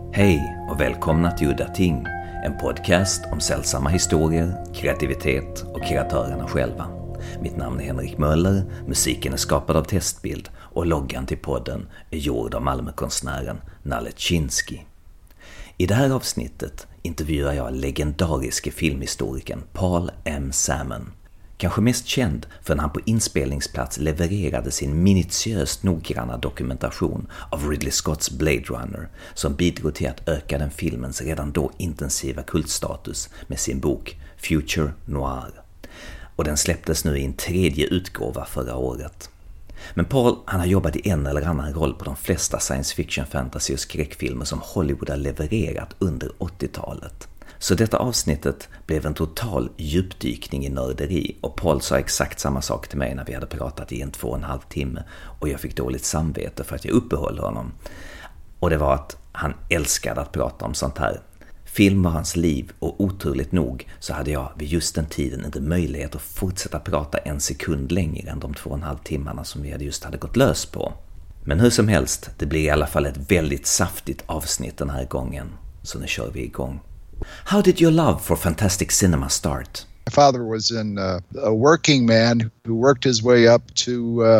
Hej och välkomna till Udda Ting, en podcast om sällsamma historier, kreativitet och kreatörerna själva. Mitt namn är Henrik Möller, musiken är skapad av Testbild och loggan till podden är gjord av Malmökonstnären Nalle Chinsky. I det här avsnittet intervjuar jag legendariske filmhistorikern Paul M. Salmon. Kanske mest känd för när han på inspelningsplats levererade sin minutiöst noggranna dokumentation av Ridley Scotts Blade Runner som bidrog till att öka den filmens redan då intensiva kultstatus med sin bok Future Noir. Och den släpptes nu i en tredje utgåva förra året. Men Paul, han har jobbat i en eller annan roll på de flesta science fiction, fantasy och skräckfilmer som Hollywood har levererat under 80-talet. Så detta avsnittet blev en total djupdykning i nörderi och Paul sa exakt samma sak till mig när vi hade pratat i 2,5 timme och jag fick dåligt samvete för att jag uppehöll honom. Och det var att han älskade att prata om sånt här. Film var hans liv och oturligt nog så hade jag vid just den tiden inte möjlighet att fortsätta prata en sekund längre än de 2,5 timmarna som vi just hade gått lös på. Men hur som helst, det blir i alla fall ett väldigt saftigt avsnitt den här gången. Så nu kör vi igång. How did your love for fantastic cinema start? My father was a working man who worked his way up to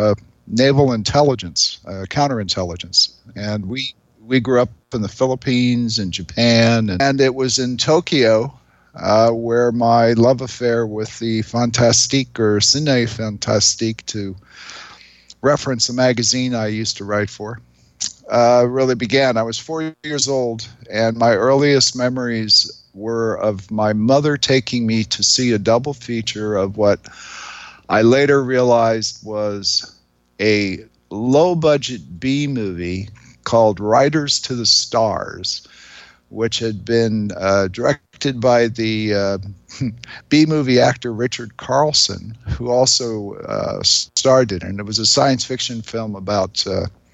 naval intelligence, counterintelligence. And we grew up in the Philippines and Japan. And it was in Tokyo where my love affair with the Fantastique, or Ciné Fantastique, to reference a magazine I used to write for, really began. I was 4 years old, and my earliest memories were of my mother taking me to see a double feature of what I later realized was a low-budget B movie called Riders to the Stars, which had been directed by the B-movie actor Richard Carlson, who also starred in it. And it was a science fiction film about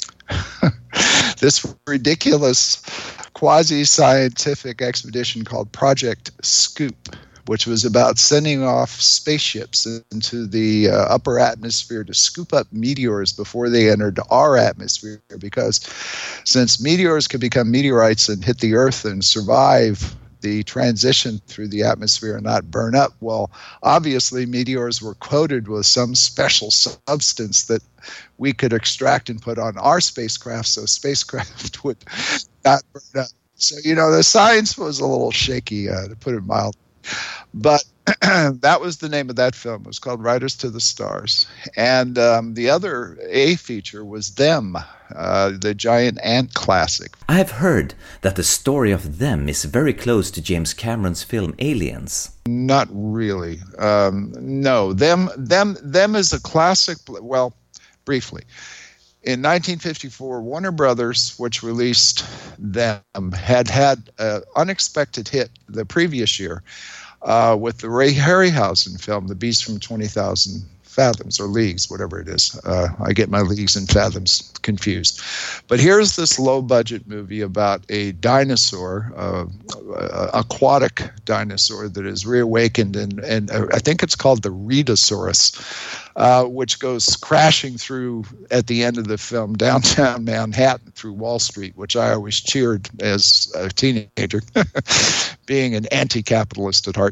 this ridiculous quasi-scientific expedition called Project Scoop, which was about sending off spaceships into the upper atmosphere to scoop up meteors before they entered our atmosphere, because since meteors could become meteorites and hit the Earth and survive the transition through the atmosphere and not burn up, well, obviously meteors were coated with some special substance that we could extract and put on our spacecraft so spacecraft would not burn up. So, the science was a little shaky, to put it mildly. But that was the name of that film. It was called Riders to the Stars. And the other A feature was Them, the giant ant classic. I have heard that the story of Them is very close to James Cameron's film Aliens. Not really. No, Them is a classic. Well, briefly. In 1954, Warner Brothers, which released Them, had an unexpected hit the previous year with the Ray Harryhausen film, The Beast from 20,000 Fathoms, or Leagues, whatever it is. I get my leagues and fathoms confused. But here's this low-budget movie about a dinosaur, aquatic dinosaur that is reawakened, and I think it's called the Rhedosaurus, which goes crashing through, at the end of the film, downtown Manhattan through Wall Street, which I always cheered as a teenager, being an anti-capitalist at heart.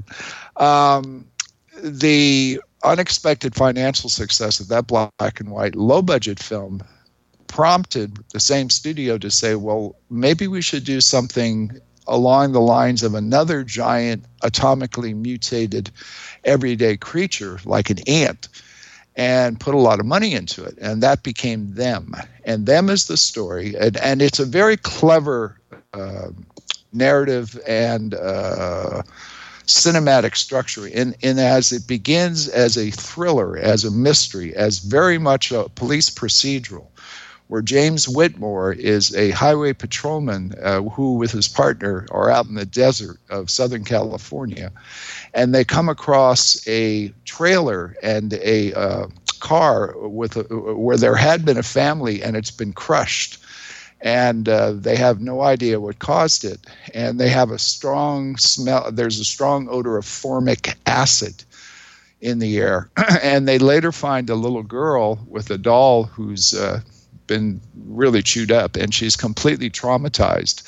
The unexpected financial success of that black and white low-budget film prompted the same studio to say, well, maybe we should do something along the lines of another giant atomically mutated everyday creature like an ant, and put a lot of money into it. And that became Them. And Them is the story. And it's a very clever narrative and cinematic structure in as it begins as a thriller, as a mystery, as very much a police procedural, where James Whitmore is a highway patrolman who, with his partner, are out in the desert of Southern California, and they come across a trailer and a car where there had been a family and it's been crushed. And they have no idea what caused it. And they have a strong smell. There's a strong odor of formic acid in the air. And they later find a little girl with a doll who's been really chewed up, and she's completely traumatized.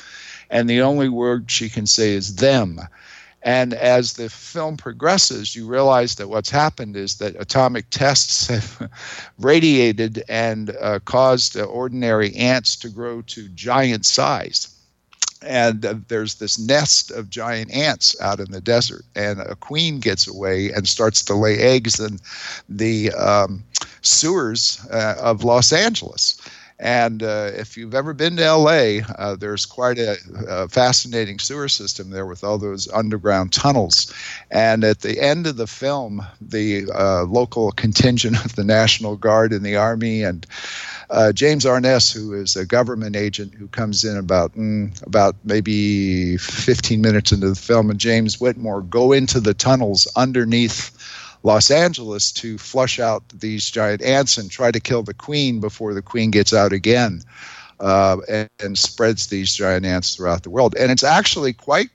and the only word she can say is them. And as the film progresses, you realize that what's happened is that atomic tests have radiated and caused ordinary ants to grow to giant size. And there's this nest of giant ants out in the desert, and a queen gets away and starts to lay eggs in the sewers of Los Angeles. And if you've ever been to L.A., there's quite a fascinating sewer system there with all those underground tunnels. And at the end of the film, the local contingent of the National Guard and the Army and James Arness, who is a government agent who comes in about maybe 15 minutes into the film, and James Whitmore go into the tunnels underneath Los Angeles to flush out these giant ants and try to kill the queen before the queen gets out again, and spreads these giant ants throughout the world. And it's actually quite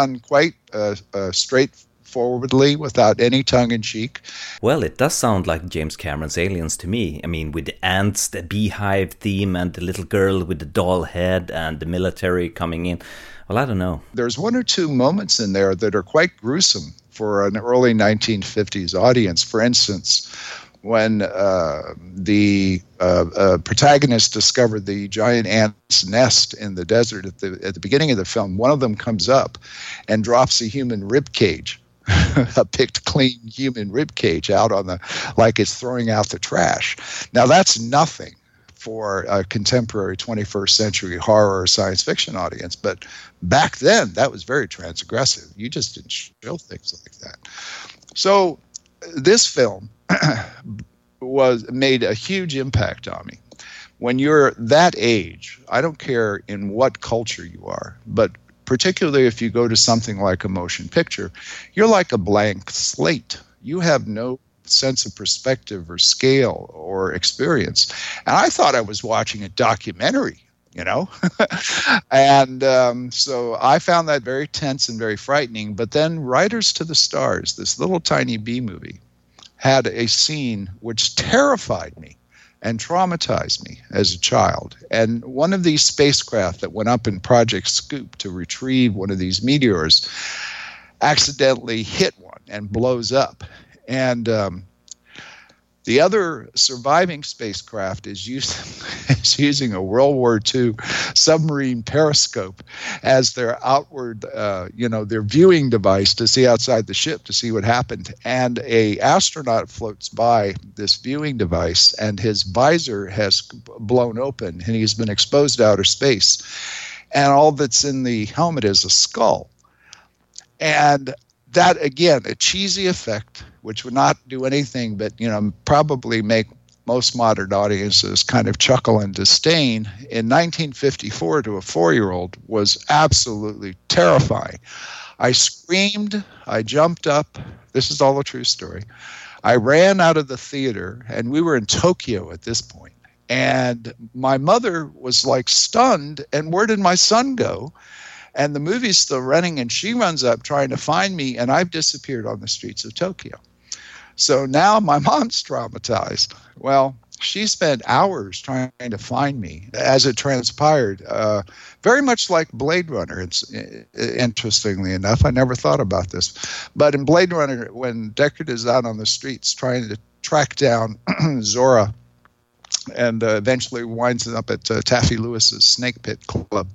straightforwardly, without any tongue-in-cheek. Well, it does sound like James Cameron's Aliens to me. I mean, with the ants, the beehive theme, and the little girl with the doll head, and the military coming in. Well, I don't know. There's one or two moments in there that are quite gruesome for an early 1950s audience. For instance, when the protagonist discovered the giant ant's nest in the desert at the beginning of the film, one of them comes up and drops a human rib cage, a picked clean human rib cage out on like it's throwing out the trash. Now that's nothing for a contemporary 21st century horror or science fiction audience. But back then, that was very transgressive. You just didn't show things like that. So this film made a huge impact on me. When you're that age, I don't care in what culture you are, but particularly if you go to something like a motion picture, you're like a blank slate. You have no sense of perspective or scale or experience. And I thought I was watching a documentary, and so I found that very tense and very frightening. But then Riders to the Stars, this little tiny B movie, had a scene which terrified me and traumatized me as a child. And one of these spacecraft that went up in Project Scoop to retrieve one of these meteors accidentally hit one and blows up. And the other surviving spacecraft is using a World War II submarine periscope as their outward, their viewing device to see outside the ship to see what happened. And a astronaut floats by this viewing device, and his visor has blown open, and he's been exposed to outer space. And all that's in the helmet is a skull. And that, again, a cheesy effect, which would not do anything but, probably make most modern audiences kind of chuckle and disdain, in 1954 to a 4-year-old was absolutely terrifying. I screamed, I jumped up. This is all a true story. I ran out of the theater, and we were in Tokyo at this point. And my mother was like stunned, and where did my son go? And the movie's still running, and she runs up trying to find me, and I've disappeared on the streets of Tokyo. So now my mom's traumatized. Well, she spent hours trying to find me, as it transpired, very much like Blade Runner. It's, interestingly enough, I never thought about this. But in Blade Runner, when Deckard is out on the streets trying to track down Zora, and eventually winds up at Taffy Lewis's Snake Pit Club,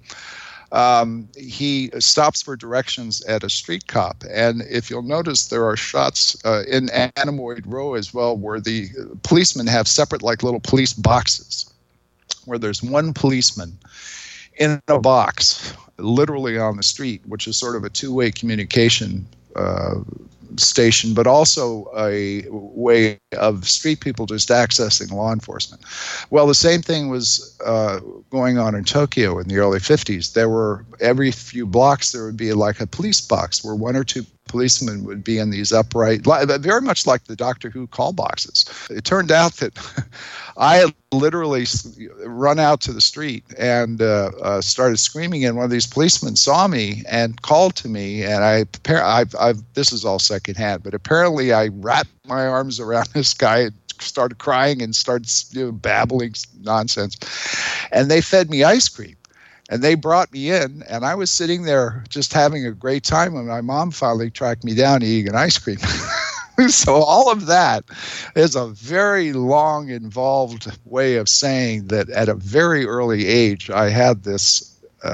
he stops for directions at a street cop. And if you'll notice, there are shots in Anemoid Row as well where the policemen have separate, like, little police boxes, where there's one policeman in a box literally on the street, which is sort of a two-way communication station, but also a way of street people just accessing law enforcement. Well, the same thing was going on in Tokyo in the early 50s. There were, every few blocks, there would be like a police box where one or two policemen would be in these upright, very much like the Doctor Who call boxes. It turned out that I had literally run out to the street and started screaming, and one of these policemen saw me and called to me, and I've this is all secondhand, but apparently I wrapped my arms around this guy and started crying and started babbling nonsense, and they fed me ice cream. And they brought me in, and I was sitting there just having a great time when my mom finally tracked me down eating an ice cream. So all of that is a very long, involved way of saying that at a very early age, I had this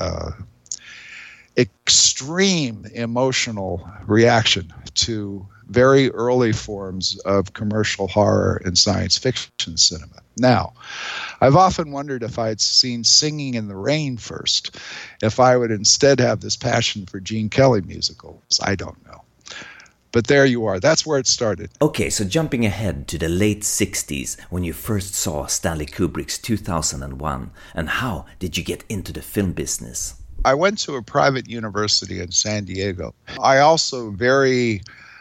extreme emotional reaction to very early forms of commercial horror and science fiction cinema. Now, I've often wondered if I'd seen Singing in the Rain first, if I would instead have this passion for Gene Kelly musicals. I don't know. But there you are. That's where it started. Okay, so jumping ahead to the late 60s when you first saw Stanley Kubrick's 2001, and how did you get into the film business? I went to a private university in San Diego. I also very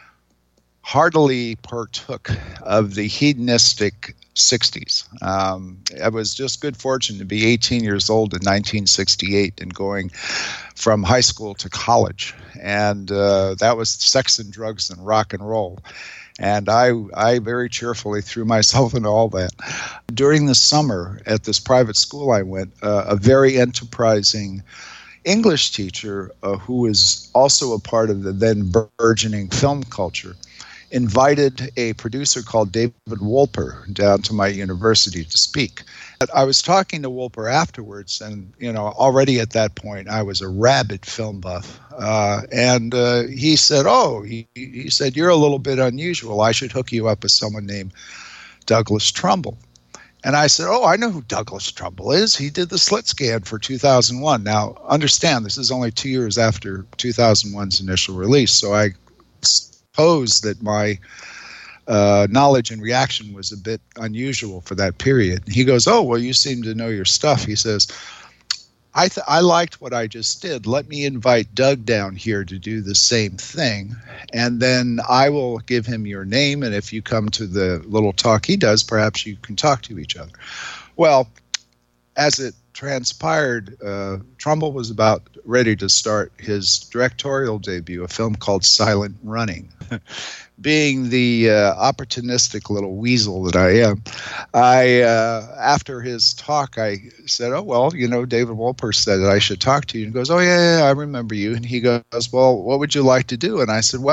heartily partook of the hedonistic 60s. I was just good fortune to be 18 years old in 1968 and going from high school to college. And that was sex and drugs and rock and roll. And I very cheerfully threw myself into all that. During the summer at this private school I went, a very enterprising English teacher who was also a part of the then burgeoning film culture invited a producer called David Wolper down to my university to speak. I was talking to Wolper afterwards, and already at that point I was a rabid film buff. And he said, he said, "You're a little bit unusual. I should hook you up with someone named Douglas Trumbull." And I said, I know who Douglas Trumbull is. He did the slit scan for 2001. Now, understand, this is only 2 years after 2001's initial release, so I suppose that my knowledge and reaction was a bit unusual for that period. He goes, well, you seem to know your stuff. He says, I liked what I just did. Let me invite Doug down here to do the same thing, and then I will give him your name, and if you come to the little talk he does, perhaps you can talk to each other. Well, as it transpired, Trumbull was about ready to start his directorial debut, a film called Silent Running. Being the opportunistic little weasel that I am, after his talk, I said, David Wolper said that I should talk to you. And he goes, yeah, I remember you. And he goes, well, what would you like to do? And I said,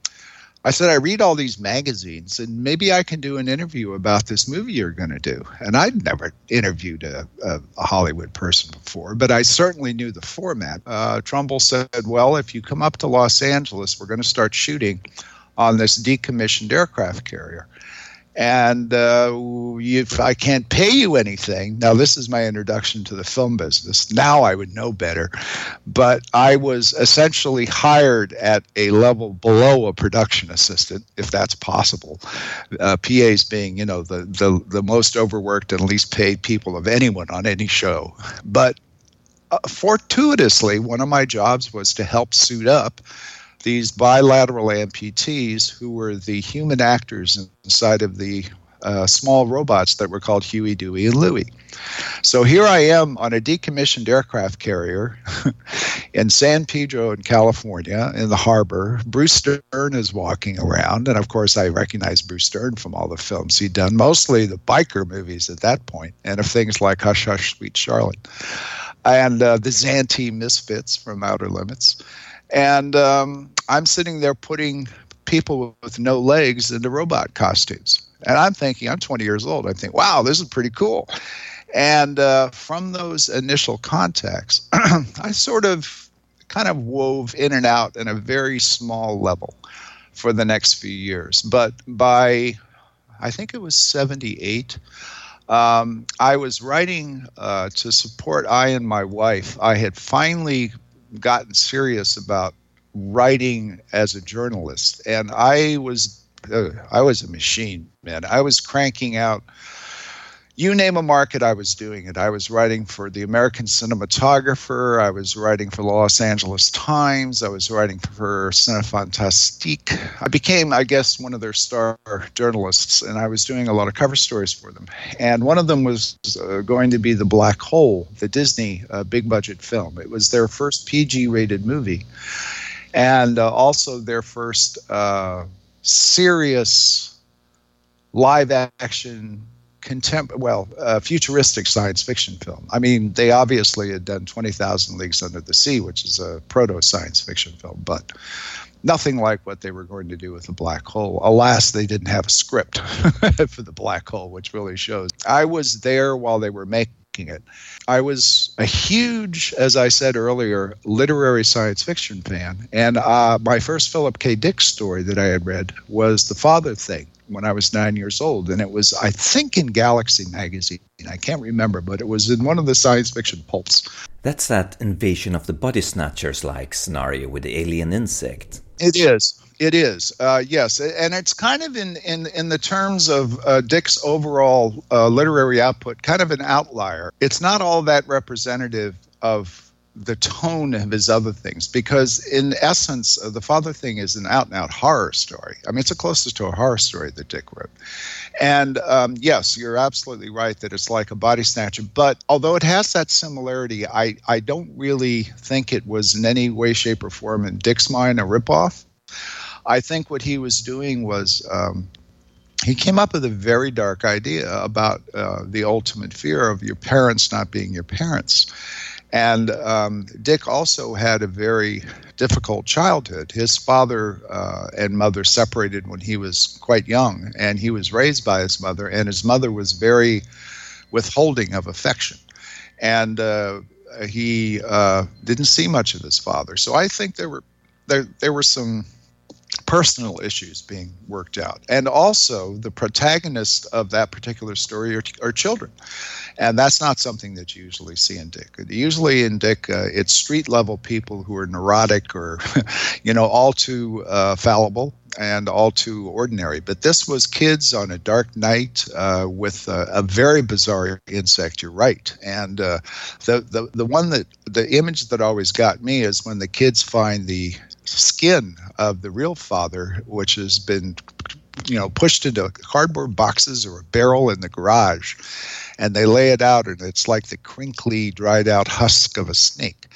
I read all these magazines, and maybe I can do an interview about this movie you're going to do. And I'd never interviewed a Hollywood person before, but I certainly knew the format. Trumbull said, well, if you come up to Los Angeles, we're going to start shooting on this decommissioned aircraft carrier. And if I can't pay you anything, now this is my introduction to the film business. Now I would know better. But I was essentially hired at a level below a production assistant, if that's possible. PAs being, the most overworked and least paid people of anyone on any show. But fortuitously, one of my jobs was to help suit up these bilateral amputees who were the human actors inside of the small robots that were called Huey, Dewey, and Louie. So here I am on a decommissioned aircraft carrier in San Pedro in California in the harbor. Bruce Stern is walking around, and of course I recognize Bruce Stern from all the films he'd done, mostly the biker movies at that point, and of things like Hush, Hush, Sweet Charlotte, and the Zantee Misfits from Outer Limits. And I'm sitting there putting people with no legs into robot costumes. And I'm thinking, I'm 20 years old. I think, wow, this is pretty cool. And from those initial contacts, I sort of kind of wove in and out in a very small level for the next few years. But by, I think it was 78, I was writing to support I and my wife. I had finally gotten serious about writing as a journalist, and I was a machine, man. I was cranking out, you name a market, I was doing it. I was writing for the American Cinematographer. I was writing for the Los Angeles Times. I was writing for Cinefantastique. I became, I guess, one of their star journalists, and I was doing a lot of cover stories for them. And one of them was going to be The Black Hole, the Disney big-budget film. It was their first PG-rated movie, and also their first serious live-action futuristic science fiction film. I mean, they obviously had done 20,000 Leagues Under the Sea, which is a proto-science fiction film, but nothing like what they were going to do with the black hole. Alas, they didn't have a script for the black hole, which really shows. I was there while they were making it. I was a huge, as I said earlier, literary science fiction fan. And my first Philip K. Dick story that I had read was The Father Thing when I was 9 years old. And it was, I think, in Galaxy magazine. I can't remember, but it was in one of the science fiction pulps. That's that Invasion of the Body Snatchers-like scenario with the alien insect. It is. It is, yes, and it's kind of in the terms of Dick's overall literary output, kind of an outlier. It's not all that representative of the tone of his other things, because in essence, The Father Thing is an out-and-out horror story. I mean, it's the closest to a horror story that Dick wrote. And yes, you're absolutely right that it's like a body snatcher. But although it has that similarity, I don't really think it was in any way, shape, or form in Dick's mind a ripoff. I think what he was doing was he came up with a very dark idea about the ultimate fear of your parents not being your parents. And Dick also had a very difficult childhood. His father and mother separated when he was quite young, and he was raised by his mother, and his mother was very withholding of affection. And he didn't see much of his father. So I think there were some personal issues being worked out. And also, the protagonists of that particular story are children. And that's not something that you usually see in Dick. Usually in Dick, it's street-level people who are neurotic or, all too fallible and all too ordinary. But this was kids on a dark night with a very bizarre insect, you're right. And the image that always got me is when the kids find the skin of the real father, which has been, pushed into cardboard boxes or a barrel in the garage, and they lay it out, and it's like the crinkly, dried out husk of a snake.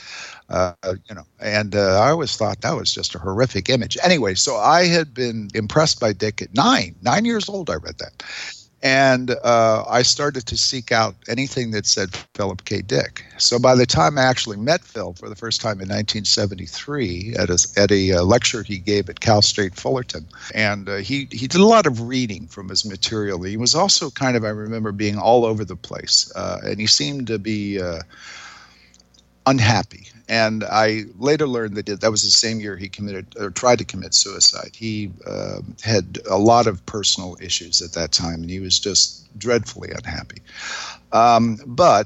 And I always thought that was just a horrific image. Anyway, so I had been impressed by Dick at 9 years old. I read that. And I started to seek out anything that said Philip K. Dick. So by the time I actually met Phil for the first time in 1973 at a lecture he gave at Cal State Fullerton, and he did a lot of reading from his material. He was also kind of, I remember, being all over the place, and he seemed to be unhappy. And I later learned that was the same year he tried to commit suicide. He had a lot of personal issues at that time, and he was just dreadfully unhappy. But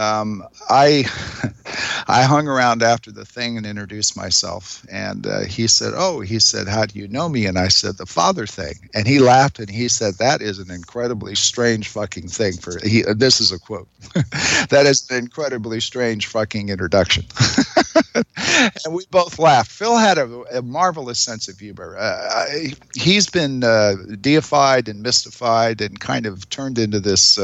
I hung around after the thing and introduced myself, and he said, how do you know me? And I said, The Father Thing. And he laughed, and he said, that is an incredibly strange fucking thing this is a quote, that is an incredibly strange fucking introduction. And we both laughed. Phil had a marvelous sense of humor. He's been deified and mystified and kind of turned into this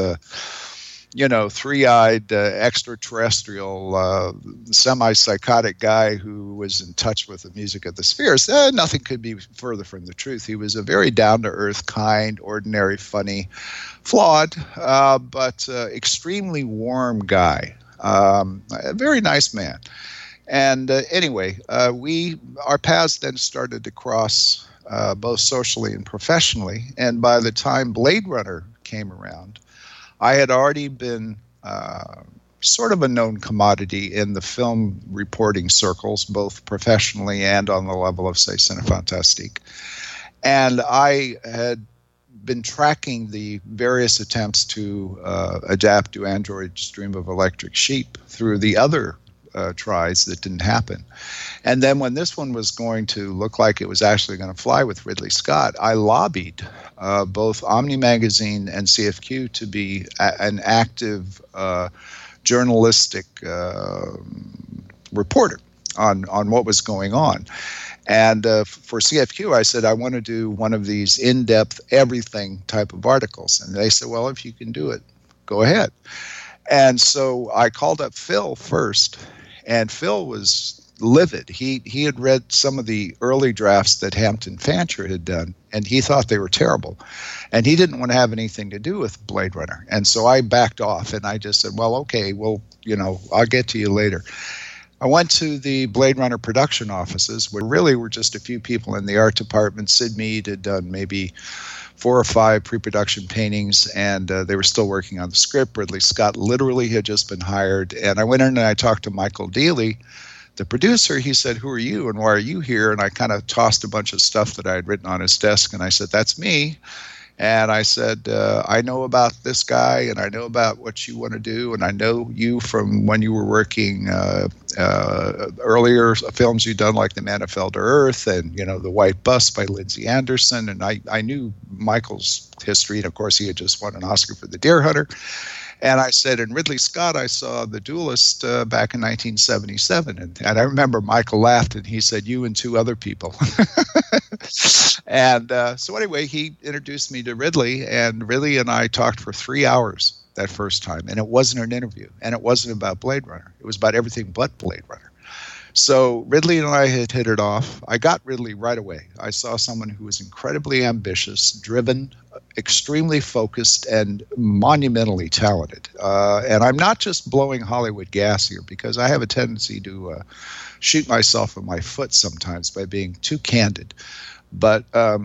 three-eyed extraterrestrial semi-psychotic guy who was in touch with the music of the spheres. Nothing could be further from the truth. He was a very down-to-earth, kind, ordinary, funny, flawed, but extremely warm guy. A very nice man. And anyway, our paths then started to cross both socially and professionally. And by the time Blade Runner came around, I had already been sort of a known commodity in the film reporting circles, both professionally and on the level of, say, Cinefantastique. And I had been tracking the various attempts to adapt to Android's Dream of Electric Sheep through the other tries that didn't happen. And then when this one was going to look like it was actually going to fly with Ridley Scott, I lobbied both Omni Magazine and CFQ to be an active journalistic reporter on what was going on. And for CFQ, I said, I want to do one of these in-depth everything type of articles. And they said, well, if you can do it, go ahead. And so I called up Phil first. And Phil was livid. He had read some of the early drafts that Hampton Fancher had done, and he thought they were terrible. And he didn't want to have anything to do with Blade Runner. And so I backed off, and I just said, well, okay, well, I'll get to you later. I went to the Blade Runner production offices, where really were just a few people in the art department. Sid Mead had done maybe 4 or 5 pre-production paintings, and they were still working on the script. Ridley Scott literally had just been hired. And I went in and I talked to Michael Dealey, the producer. He said, who are you and why are you here? And I kind of tossed a bunch of stuff that I had written on his desk, and I said, that's me. And I said, I know about this guy, and I know about what you want to do, and I know you from when you were working earlier films you'd done, like The Man Who Fell to Earth and, The White Bus by Lindsay Anderson. And I knew Michael's history, and of course he had just won an Oscar for The Deer Hunter. And I said, in Ridley Scott, I saw The Duelist back in 1977. And I remember Michael laughed, and he said, you and 2 other people. And so anyway, he introduced me to Ridley, and Ridley and I talked for 3 hours that first time. And it wasn't an interview, and it wasn't about Blade Runner. It was about everything but Blade Runner. So Ridley and I had hit it off. I got Ridley right away. I saw someone who was incredibly ambitious, driven, extremely focused, and monumentally talented. And I'm not just blowing Hollywood gas here, because I have a tendency to shoot myself in my foot sometimes by being too candid. But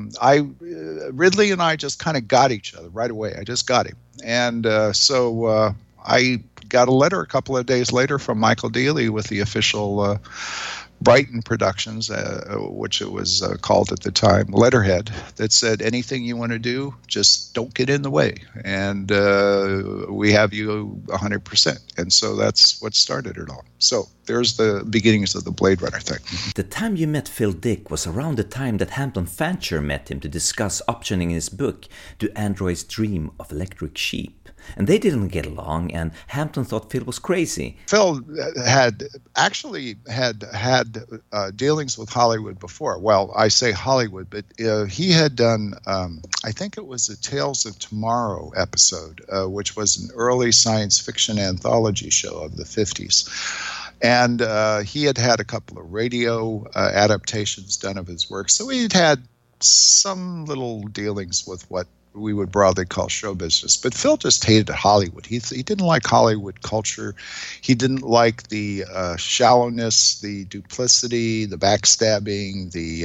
Ridley and I just kind of got each other right away. I just got him. And so I got a letter a couple of days later from Michael Dealey with the official Brighton Productions, which it was called at the time, letterhead, that said, anything you want to do, just don't get in the way. And we have you 100%. And so that's what started it all. So there's the beginnings of the Blade Runner thing. The time you met Phil Dick was around the time that Hampton Fancher met him to discuss optioning his book, Do Androids Dream of Electric Sheep? And they didn't get along, and Hampton thought Phil was crazy. Phil had actually had dealings with Hollywood before. Well, I say Hollywood, but he had done, I think it was a Tales of Tomorrow episode, which was an early science fiction anthology show of the 50s. And he had had a couple of radio adaptations done of his work. So he had some little dealings with what we would broadly call show business. But Phil just hated Hollywood. He didn't like Hollywood culture. He didn't like the shallowness, the duplicity, the backstabbing, the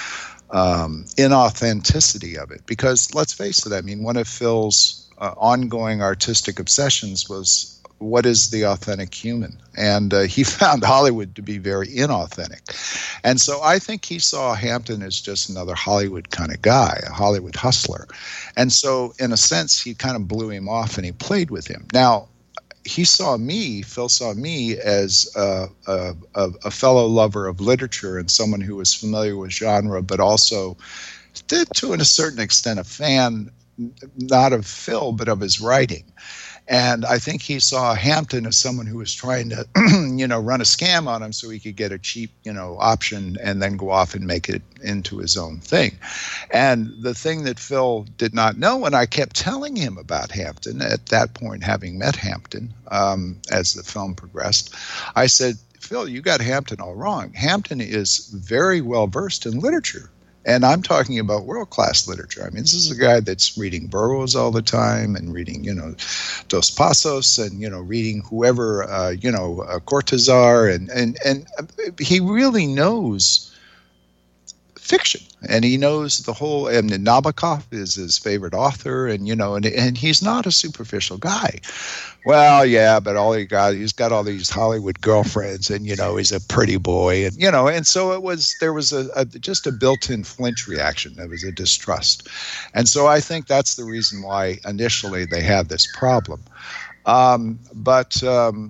inauthenticity of it. Because let's face it, I mean, one of Phil's ongoing artistic obsessions was, what is the authentic human? And he found Hollywood to be very inauthentic. And so I think he saw Hampton as just another Hollywood kind of guy, a Hollywood hustler. And so in a sense, he kind of blew him off and he played with him. Now, Phil saw me as a fellow lover of literature and someone who was familiar with genre, but also, to a certain extent, a fan, not of Phil, but of his writing. And I think he saw Hampton as someone who was trying to, run a scam on him so he could get a cheap, option and then go off and make it into his own thing. And the thing that Phil did not know, and I kept telling him about Hampton at that point, having met Hampton as the film progressed, I said, Phil, you got Hampton all wrong. Hampton is very well versed in literature. And I'm talking about world-class literature. I mean, this is a guy that's reading Burroughs all the time and reading, Dos Passos and, reading whoever, Cortázar. And he really knows fiction. And he knows the whole, and Nabokov is his favorite author, and he's not a superficial guy. Well, yeah, but he's got all these Hollywood girlfriends, and he's a pretty boy, and and so there was just a built-in flinch reaction. There was a distrust, and so I think that's the reason why initially they had this problem. But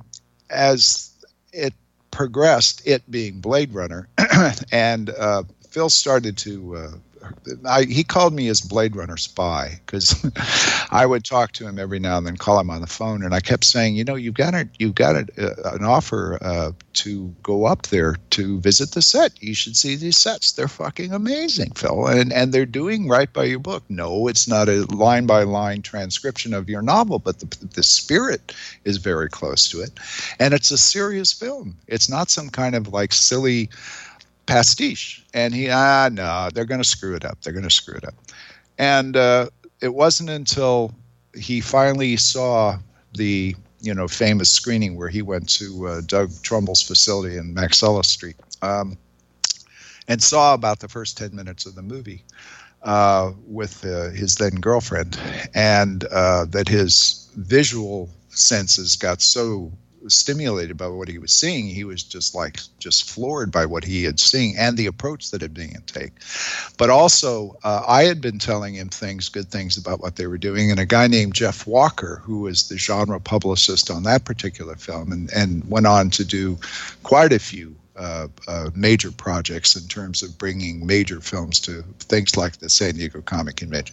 as it progressed, it being Blade Runner, and Phil started to he called me his Blade Runner spy, because I would talk to him every now and then, call him on the phone, and I kept saying, you've got an offer to go up there to visit the set. You should see these sets. They're fucking amazing, Phil, and they're doing right by your book. No, it's not a line by line transcription of your novel, but the spirit is very close to it, and it's a serious film. It's not some kind of like silly pastiche. And no, they're going to screw it up. And it wasn't until he finally saw the famous screening where he went to Doug Trumbull's facility in Maxella Street, and saw about the first 10 minutes of the movie with his then girlfriend, and that his visual senses got so stimulated by what he was seeing. He was just floored by what he had seen and the approach that had been taken. But also, I had been telling him good things about what they were doing, and a guy named Jeff Walker, who was the genre publicist on that particular film, and went on to do quite a few major projects in terms of bringing major films to things like the San Diego Comic Convention.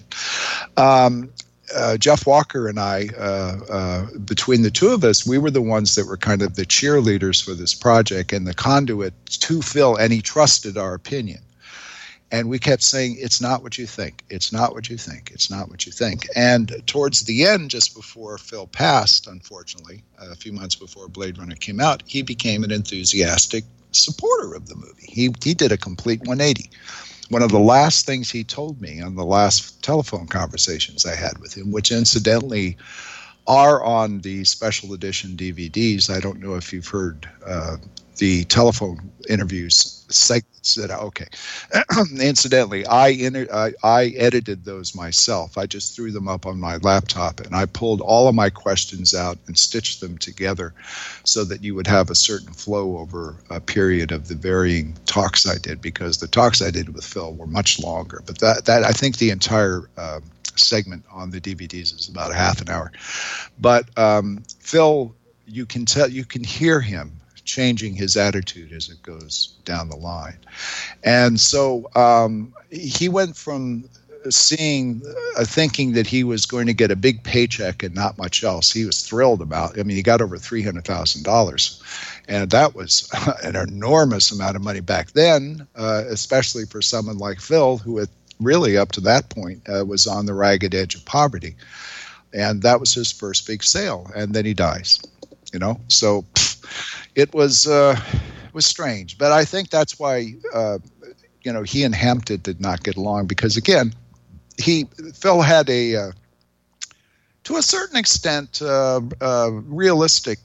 Jeff Walker and I, between the two of us, we were the ones that were kind of the cheerleaders for this project and the conduit to Phil, and he trusted our opinion. And we kept saying, it's not what you think. It's not what you think. It's not what you think. And towards the end, just before Phil passed, unfortunately, a few months before Blade Runner came out, he became an enthusiastic supporter of the movie. He did a complete 180. One of the last things he told me on the last telephone conversations I had with him, which incidentally are on the special edition DVDs. I don't know if you've heard the telephone interviews segments that okay. Incidentally, I edited those myself. I just threw them up on my laptop, and I pulled all of my questions out and stitched them together so that you would have a certain flow over a period of the varying talks I did, because the talks I did with Phil were much longer. But that I think the entire segment on the DVDs is about a half an hour. But Phil, you can hear him changing his attitude as it goes down the line. And so he went from thinking that he was going to get a big paycheck and not much else. He was thrilled about it. I mean, he got over $300,000, and that was an enormous amount of money back then, especially for someone like Phil, who had really up to that point was on the ragged edge of poverty. And that was his first big sale, and then he dies. So it was strange, but I think that's why he and Hampton did not get along, because again, Phil had to a certain extent realistic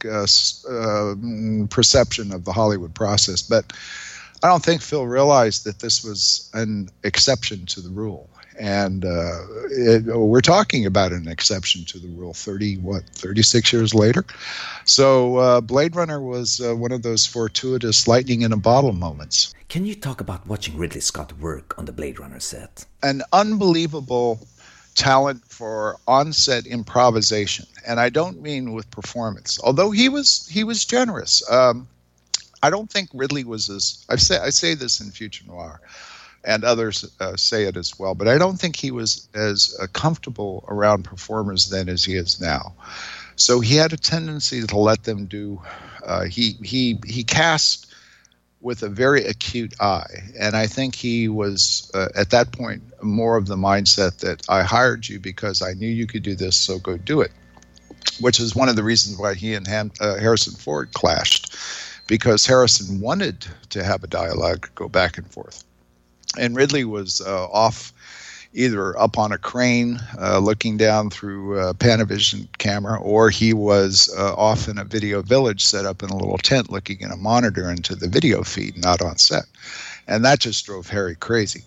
perception of the Hollywood process, but I don't think Phil realized that this was an exception to the rule. And we're talking about an exception to the rule 36 years later. So Blade Runner was one of those fortuitous lightning in a bottle moments. Can you talk about watching Ridley Scott work on the Blade Runner set? An unbelievable talent for on-set improvisation. And I don't mean with performance, although he was generous. I don't think Ridley was I say this in Future Noir, and others say it as well, but I don't think he was as comfortable around performers then as he is now. So he had a tendency to let them do. He cast with a very acute eye, and I think he was at that point more of the mindset that I hired you because I knew you could do this, so go do it. Which is one of the reasons why he and Harrison Ford clashed, because Harrison wanted to have a dialogue go back and forth. And Ridley was off either up on a crane looking down through a Panavision camera, or he was off in a video village set up in a little tent looking in a monitor into the video feed, not on set. And that just drove Harry crazy.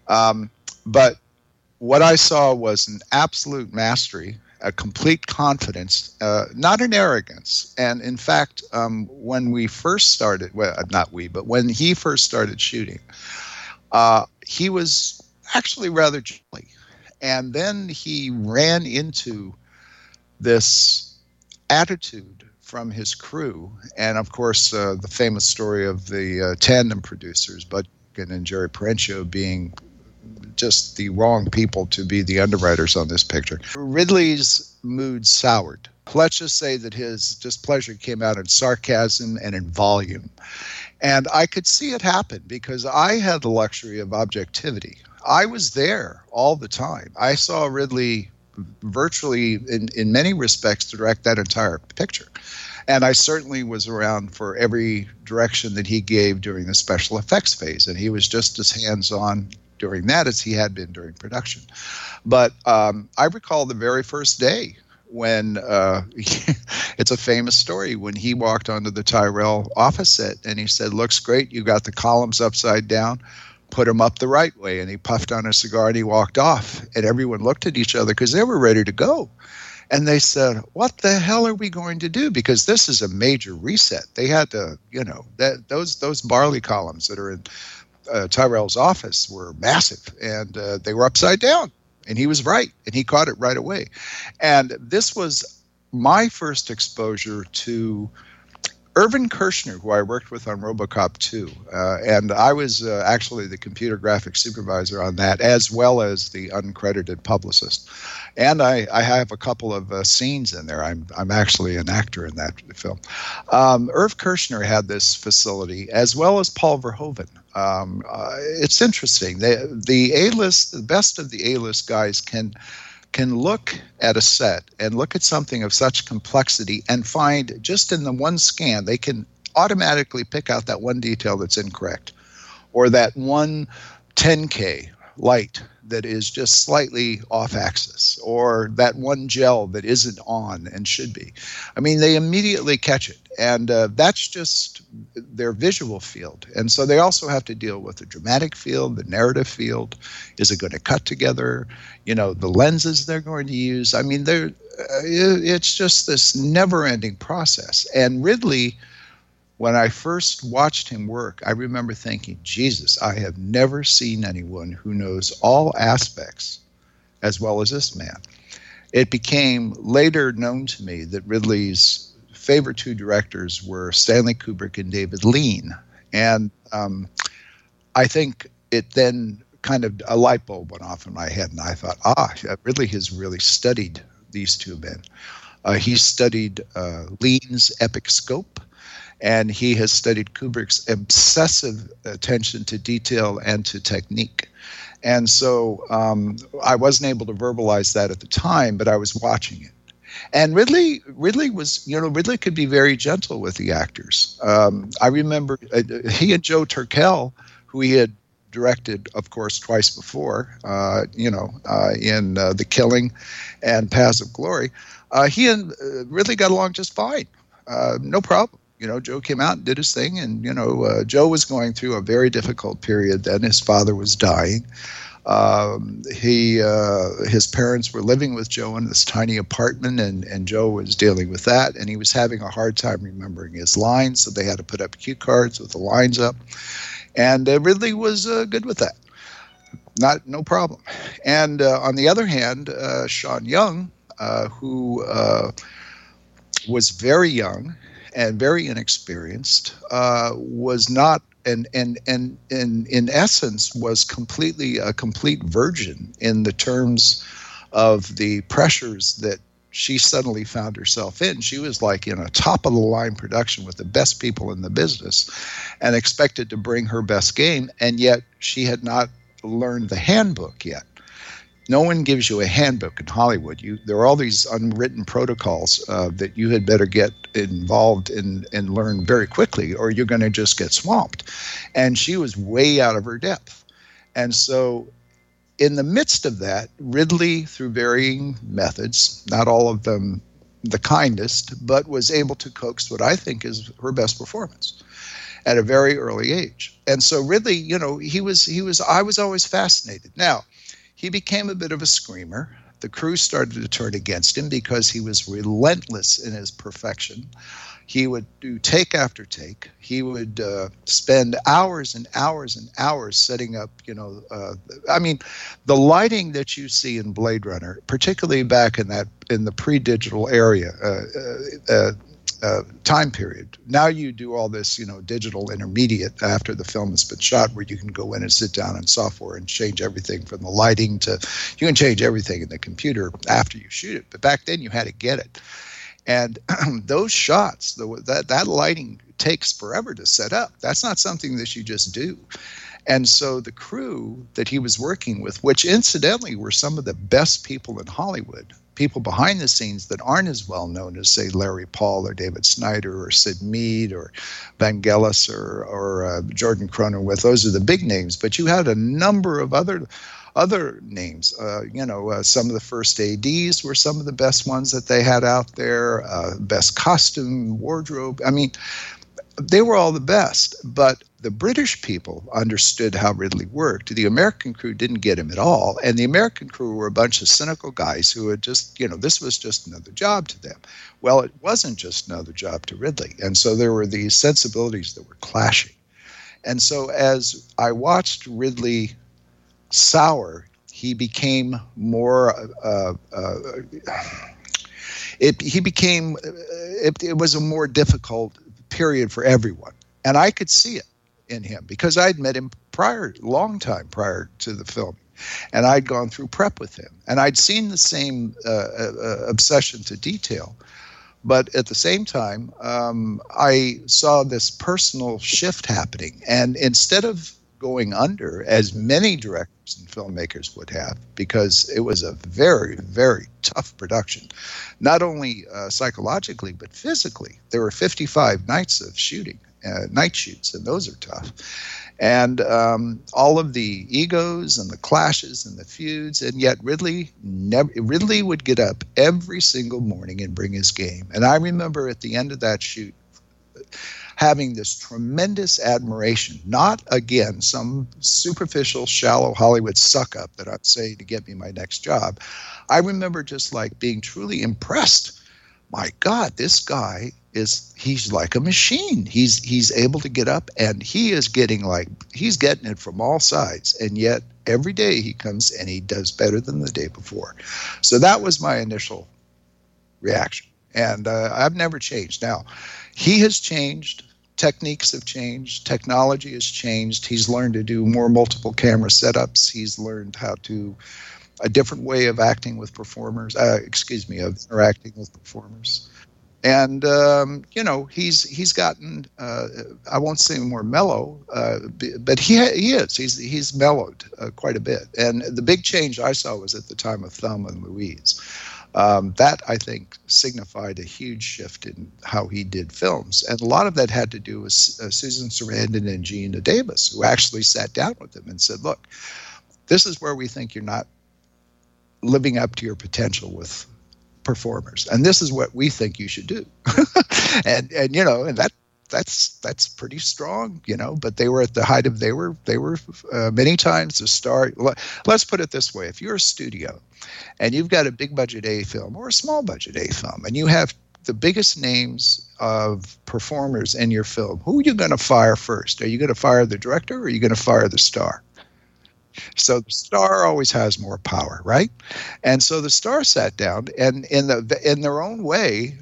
But what I saw was an absolute mastery, a complete confidence, not an arrogance. And in fact, when we first started, well, not we, but when he first started shooting, he was actually rather jolly. And then he ran into this attitude from his crew. And of course, the famous story of the tandem producers, Bud and Jerry Perenchio, being just the wrong people to be the underwriters on this picture. Ridley's mood soured. Let's just say that his displeasure came out in sarcasm and in volume. And I could see it happen because I had the luxury of objectivity. I was there all the time. I saw Ridley virtually, in many respects, direct that entire picture. And I certainly was around for every direction that he gave during the special effects phase. And he was just as hands-on during that as he had been during production. But I recall the very first day when it's a famous story when he walked onto the Tyrell office set and he said, "Looks great. You got the columns upside down. Put them up the right way." And he puffed on a cigar and he walked off. And everyone looked at each other because they were ready to go. And they said, "What the hell are we going to do?" Because this is a major reset. They had to, those Barley columns that are in Tyrell's office were massive, and they were upside down. And he was right, and he caught it right away. And this was my first exposure to Irvin Kershner, who I worked with on RoboCop 2. And I was actually the computer graphics supervisor on that, as well as the uncredited publicist. And I have a couple of scenes in there. I'm actually an actor in that film. Irv Kershner had this facility, as well as Paul Verhoeven. It's interesting. The A-list, the best of the A-list guys can look at a set and look at something of such complexity and find just in the one scan, they can automatically pick out that one detail that's incorrect, or that one 10K light that is just slightly off axis, or that one gel that isn't on and should be. I mean, they immediately catch it. And that's just their visual field. And so they also have to deal with the dramatic field, the narrative field. Is it going to cut together? The lenses they're going to use. I mean, it's just this never-ending process. And Ridley, when I first watched him work, I remember thinking, Jesus, I have never seen anyone who knows all aspects as well as this man. It became later known to me that Ridley's favorite two directors were Stanley Kubrick and David Lean. And I think it then kind of a light bulb went off in my head, and I thought, Ridley has really studied these two men. He studied Lean's epic scope, and he has studied Kubrick's obsessive attention to detail and to technique. And so I wasn't able to verbalize that at the time, but I was watching it. And Ridley could be very gentle with the actors. I remember he and Joe Turkel, who he had directed, of course, twice before, in The Killing and Paths of Glory, he and Ridley got along just fine. No problem. Joe came out and did his thing, and, Joe was going through a very difficult period then. His father was dying. His parents were living with Joe in this tiny apartment, and Joe was dealing with that, and he was having a hard time remembering his lines, so they had to put up cue cards with the lines up, and Ridley was good with that. No problem. And on the other hand, Sean Young, who was very young and very inexperienced, was not, and in essence was completely a complete virgin in the terms of the pressures that she suddenly found herself in. She was like in a top of the line production with the best people in the business and expected to bring her best game, and yet she had not learned the handbook yet. No one gives you a handbook in Hollywood. There are all these unwritten protocols that you had better get involved in and learn very quickly, or you're going to just get swamped. And she was way out of her depth. And so in the midst of that, Ridley, through varying methods, not all of them the kindest, but was able to coax what I think is her best performance at a very early age. And so Ridley, I was always fascinated. Now, he became a bit of a screamer. The crew started to turn against him because he was relentless in his perfection. He would do take after take. He would spend hours and hours and hours setting up, the lighting that you see in Blade Runner, particularly back in the pre-digital area, time period. Now you do all this, digital intermediate after the film has been shot, where you can go in and sit down in software and change everything from the lighting to, you can change everything in the computer after you shoot it. But back then you had to get it. And those shots, that lighting takes forever to set up. That's not something that you just do. And so the crew that he was working with, which incidentally were some of the best people in Hollywood, people behind the scenes that aren't as well known as, say, Larry Paul or David Snyder or Sid Mead or Vangelis or Jordan Cronenweth. Those are the big names. But you had a number of other names. Some of the first ADs were some of the best ones that they had out there. Best costume, wardrobe. I mean, they were all the best, but the British people understood how Ridley worked. The American crew didn't get him at all, and the American crew were a bunch of cynical guys who had just, this was just another job to them. Well, it wasn't just another job to Ridley, and so there were these sensibilities that were clashing. And so as I watched Ridley sour, he became more it was a more difficult period for everyone. And I could see it in him because I'd met him long time prior to the film. And I'd gone through prep with him. And I'd seen the same obsession to detail. But at the same time, I saw this personal shift happening. And instead of going under, as many directors and filmmakers would have, because it was a very, very tough production, not only psychologically, but physically. There were 55 nights of shooting, night shoots, and those are tough. And all of the egos and the clashes and the feuds, and yet Ridley would get up every single morning and bring his game. And I remember at the end of that shoot having this tremendous admiration, not, again, some superficial, shallow Hollywood suck-up that I'm saying to get me my next job. I remember just like being truly impressed. My God, this guy he's like a machine. He's able to get up, and he's getting it from all sides. And yet every day he comes and he does better than the day before. So that was my initial reaction. And I've never changed. Now, he has changed. Techniques have changed. Technology has changed. He's learned to do more multiple camera setups. He's learned a different way of acting with performers, of interacting with performers. And, he's gotten, I won't say more mellow, but he is. He's mellowed quite a bit. And the big change I saw was at the time of Thelma and Louise. That, I think, signified a huge shift in how he did films. And a lot of that had to do with Susan Sarandon and Geena Davis, who actually sat down with him and said, look, this is where we think you're not living up to your potential with performers. And this is what we think you should do. and that's pretty strong, but they were at the height of, they were many times the star. Let's put it this way. If you're a studio and you've got a big budget A film or a small budget A film, and you have the biggest names of performers in your film, who are you going to fire first? Are you going to fire the director, or are you going to fire the star? So the star always has more power, right? And so the star sat down, and in their own way,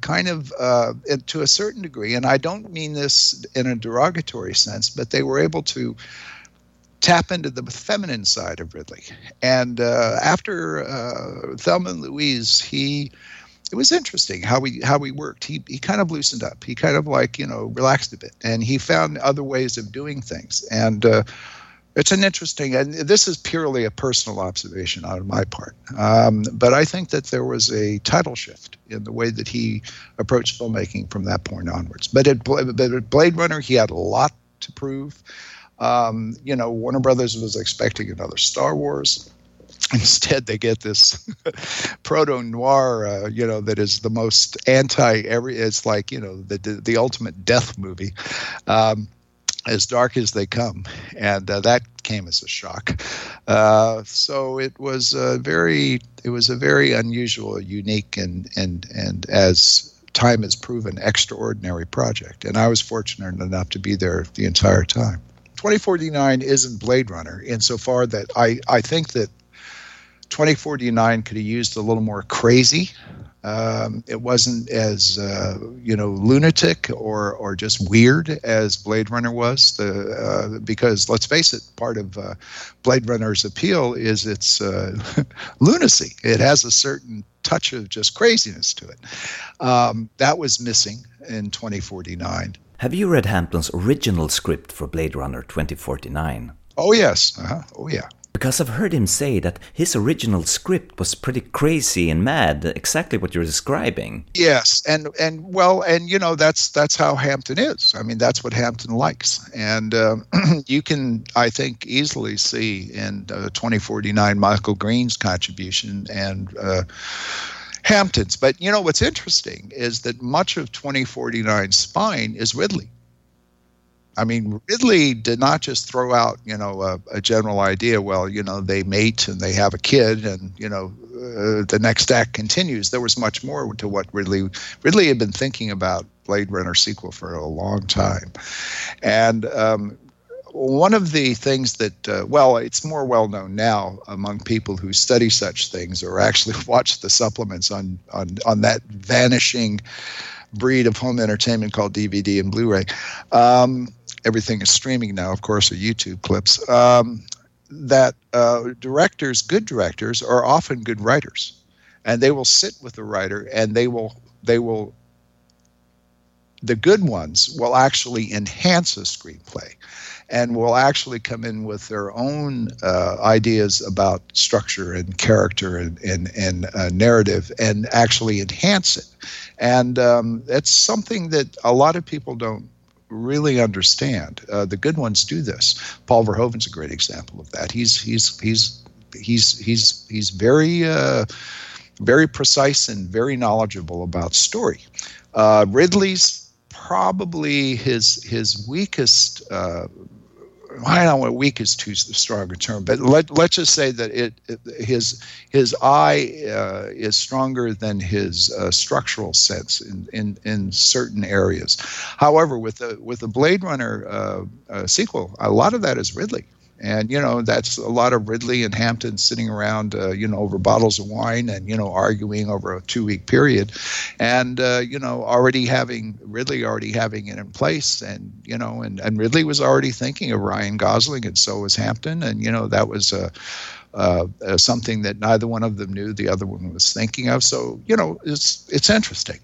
to a certain degree, and I don't mean this in a derogatory sense, but they were able to tap into the feminine side of Ridley. And after Thelma and Louise, it was interesting how he worked. He kind of loosened up. He kind of relaxed a bit, and he found other ways of doing things. And it's an interesting, and this is purely a personal observation on my part, but I think that there was a tidal shift in the way that he approached filmmaking from that point onwards. But at Blade Runner, he had a lot to prove. Warner Brothers was expecting another Star Wars. Instead, they get this proto-noir, that is the most it's like, the ultimate death movie. As dark as they come, and that came as a shock. So it was a very unusual, unique, and as time has proven, extraordinary project. And I was fortunate enough to be there the entire time. 2049 isn't Blade Runner insofar that I think that 2049 could have used a little more crazy. It wasn't as lunatic or just weird as Blade Runner was. Because let's face it, part of Blade Runner's appeal is its lunacy. It has a certain touch of just craziness to it. That was missing in 2049. Have you read Hampton's original script for Blade Runner 2049? Oh yes. Oh yeah. Because I've heard him say that his original script was pretty crazy and mad, exactly what you're describing. Yes, and that's how Hampton is. I mean, that's what Hampton likes, and you can, I think, easily see in 2049 Michael Green's contribution and Hampton's. But what's interesting is that much of 2049's spine is Ridley. I mean, Ridley did not just throw out, a general idea. Well, they mate and they have a kid, and the next act continues. There was much more to what Ridley had been thinking about Blade Runner sequel for a long time, and one of the things that it's more well known now among people who study such things or actually watch the supplements on that vanishing breed of home entertainment called DVD and Blu-ray. Everything is streaming now, of course, or YouTube clips. That good directors are often good writers, and they will sit with the writer, and the good ones will actually enhance a screenplay, and will actually come in with their own ideas about structure and character and narrative, and actually enhance it. And it's something that a lot of people don't really understand. The good ones do this. Paul Verhoeven's a great example of that. He's very very precise and very knowledgeable about story. Ridley's probably his weakest. I don't know, weak is too strong a term, but let's just say that his eye is stronger than his structural sense in certain areas. However, with the Blade Runner sequel, a lot of that is Ridley. And, that's a lot of Ridley and Hampton sitting around, over bottles of wine and, arguing over a 2-week period. And, already having it in place. And, and Ridley was already thinking of Ryan Gosling, and so was Hampton. And, that was something that neither one of them knew the other one was thinking of. So, it's interesting.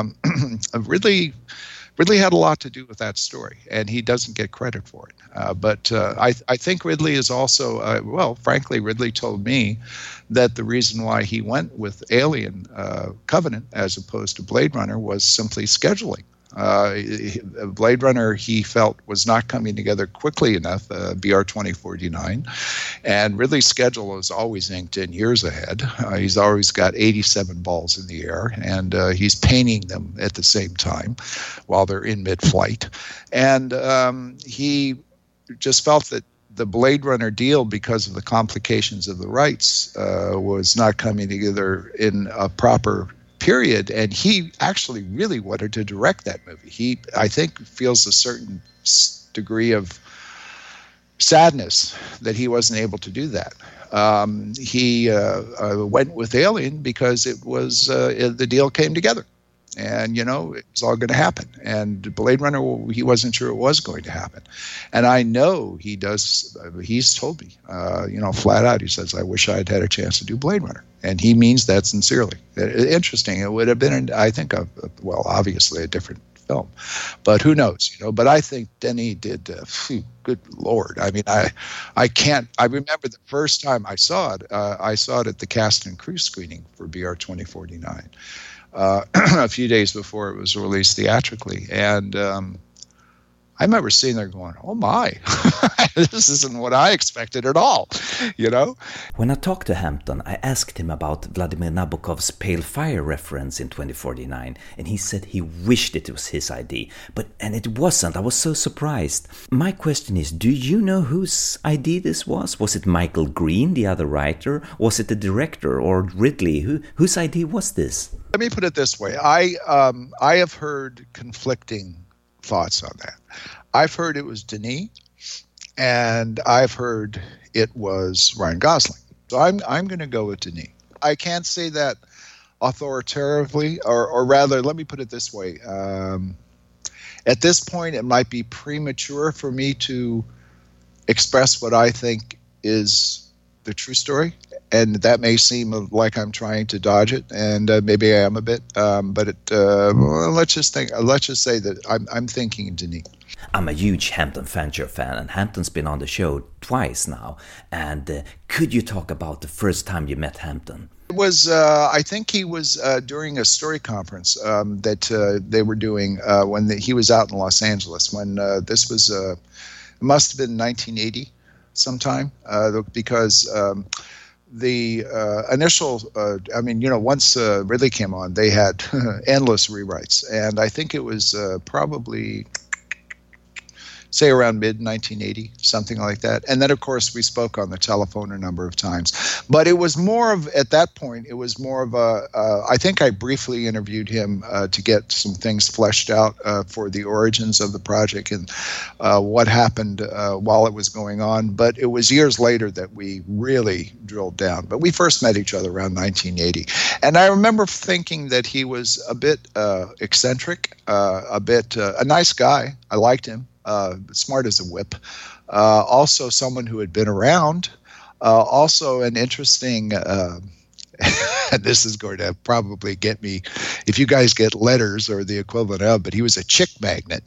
Ridley had a lot to do with that story, and he doesn't get credit for it. But I think Ridley is also, frankly, Ridley told me that the reason why he went with Alien Covenant as opposed to Blade Runner was simply scheduling. Blade Runner, he felt, was not coming together quickly enough, BR 2049, and Ridley's schedule is always inked in years ahead. He's always got 87 balls in the air, and he's painting them at the same time while they're in mid-flight. And he just felt that the Blade Runner deal, because of the complications of the rights, was not coming together in a proper period, and he actually really wanted to direct that movie. He, I think, feels a certain degree of sadness that he wasn't able to do that. He went with Alien because it was the deal came together, and it was all going to happen. And Blade Runner, he wasn't sure it was going to happen. And I know he does. He's told me, flat out. He says, "I wish I had had a chance to do Blade Runner." And he means that sincerely. Interesting. It would have been, I think, obviously a different film, but who knows? But I think Denis did. Good Lord! I mean, I can't. I remember the first time I saw it. I saw it at the cast and crew screening for BR 2049, a few days before it was released theatrically, and I remember sitting there going, "Oh my, this isn't what I expected at all," When I talked to Hampton, I asked him about Vladimir Nabokov's Pale Fire reference in 2049, and he said he wished it was his idea, and it wasn't. I was so surprised. My question is, do you know whose idea this was? Was it Michael Green, the other writer? Was it the director, or Ridley? Whose idea was this? Let me put it this way. I have heard conflicting thoughts on that. I've heard it was Denis, and I've heard it was Ryan Gosling. So I'm going to go with Denis. I can't say that authoritatively, or rather, let me put it this way. At this point, it might be premature for me to express what I think is the true story, and that may seem like I'm trying to dodge it, and maybe I am a bit. But let's just say that I'm thinking Denis. I'm a huge Hampton Fancher fan, and Hampton's been on the show twice now. And could you talk about the first time you met Hampton? It was, I think he was during a story conference that they were doing when he was out in Los Angeles. When this was, it must have been 1980 sometime, because the initial, once Ridley came on, they had endless rewrites. And I think it was probably, say, around mid-1980, something like that. And then, of course, we spoke on the telephone a number of times. But it was more of, at that point, it was more of I think I briefly interviewed him to get some things fleshed out for the origins of the project and what happened while it was going on. But it was years later that we really drilled down. But we first met each other around 1980. And I remember thinking that he was a bit eccentric, a nice guy. I liked him. Smart as a whip, also someone who had been around, also an interesting, and this is going to probably get me, if you guys get letters or the equivalent of, but he was a chick magnet.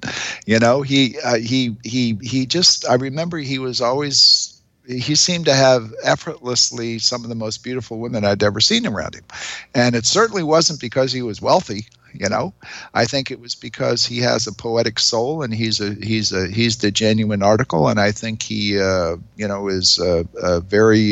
He just, I remember he seemed to have effortlessly some of the most beautiful women I'd ever seen around him. And it certainly wasn't because he was wealthy. I think it was because he has a poetic soul, and he's the genuine article, and I think he is very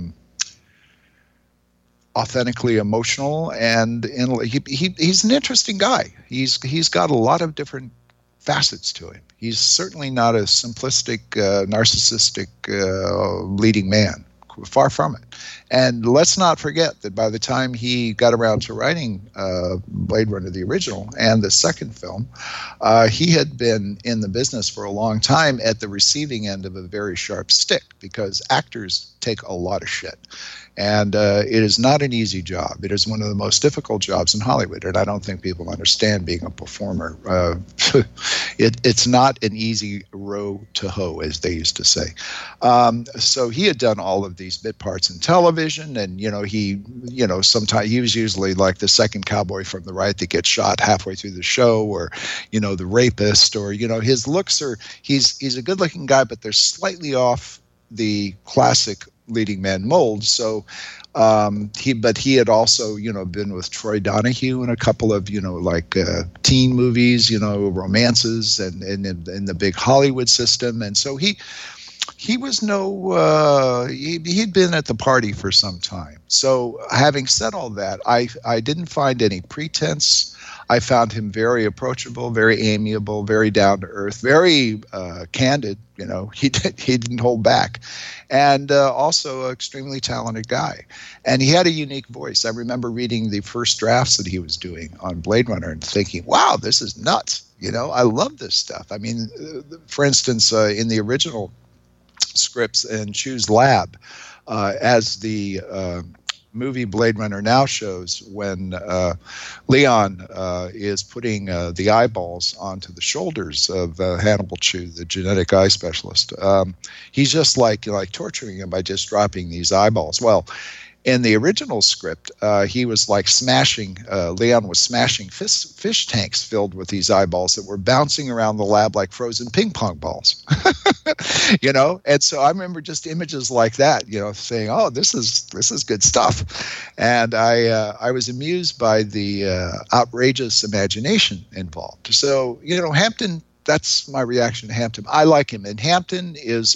authentically emotional, and he's an interesting guy. He's got a lot of different facets to him. He's certainly not a simplistic, narcissistic leading man. Far from it. And let's not forget that by the time he got around to writing Blade Runner, the original, and the second film, he had been in the business for a long time at the receiving end of a very sharp stick, because actors take a lot of shit. And it is not an easy job. It is one of the most difficult jobs in Hollywood, and I don't think people understand being a performer. It's not an easy row to hoe, as they used to say. So he had done all of these bit parts in television, and sometimes he was usually like the second cowboy from the right that gets shot halfway through the show, or the rapist, or his looks are. He's a good-looking guy, but they're slightly off the classic leading man mold. So he had also been with Troy Donahue in a couple of teen movies, romances, and in the big Hollywood system. And so he was he'd been at the party for some time. So having said all that, I didn't find any pretense. I found him very approachable, very amiable, very down to earth, very candid. He didn't hold back, and also an extremely talented guy. And he had a unique voice. I remember reading the first drafts that he was doing on Blade Runner and thinking, "Wow, this is nuts!" I love this stuff. I mean, for instance, in the original scripts in Chew's lab, as the movie Blade Runner now shows, when Leon is putting the eyeballs onto the shoulders of Hannibal Chew, the genetic eye specialist, he's just like torturing him by just dropping these eyeballs. Well, in the original script, he was like Leon was smashing fish tanks filled with these eyeballs that were bouncing around the lab like frozen ping pong balls. And so I remember just images like that, saying, "Oh, this is good stuff." And I was amused by the outrageous imagination involved. So, Hampton, that's my reaction to Hampton. I like him, and Hampton is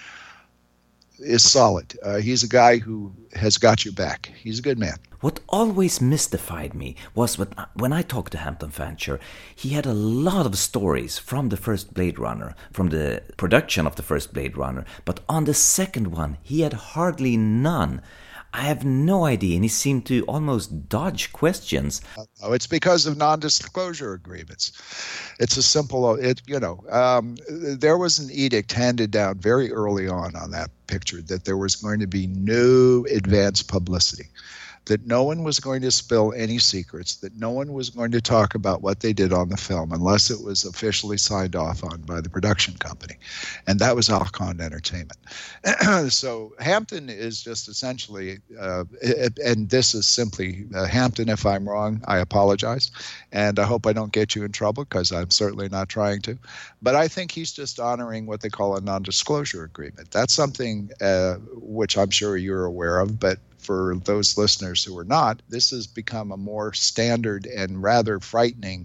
solid. He's a guy who has got your back. He's a good man. What always mystified me was when I talked to Hampton Fancher, he had a lot of stories from the first Blade Runner, from the production of the first Blade Runner, but on the second one, he had hardly none. I have no idea, and he seemed to almost dodge questions. Oh, it's because of non-disclosure agreements. It's a simple, there was an edict handed down very early on that picture that there was going to be no advance publicity, that no one was going to spill any secrets, that no one was going to talk about what they did on the film unless it was officially signed off on by the production company. And that was Alcon Entertainment. So Hampton is just essentially, and this is simply, Hampton, if I'm wrong, I apologize. And I hope I don't get you in trouble, because I'm certainly not trying to. But I think he's just honoring what they call a non-disclosure agreement. That's something which I'm sure you're aware of, but for those listeners who are not, this has become a more standard and rather frightening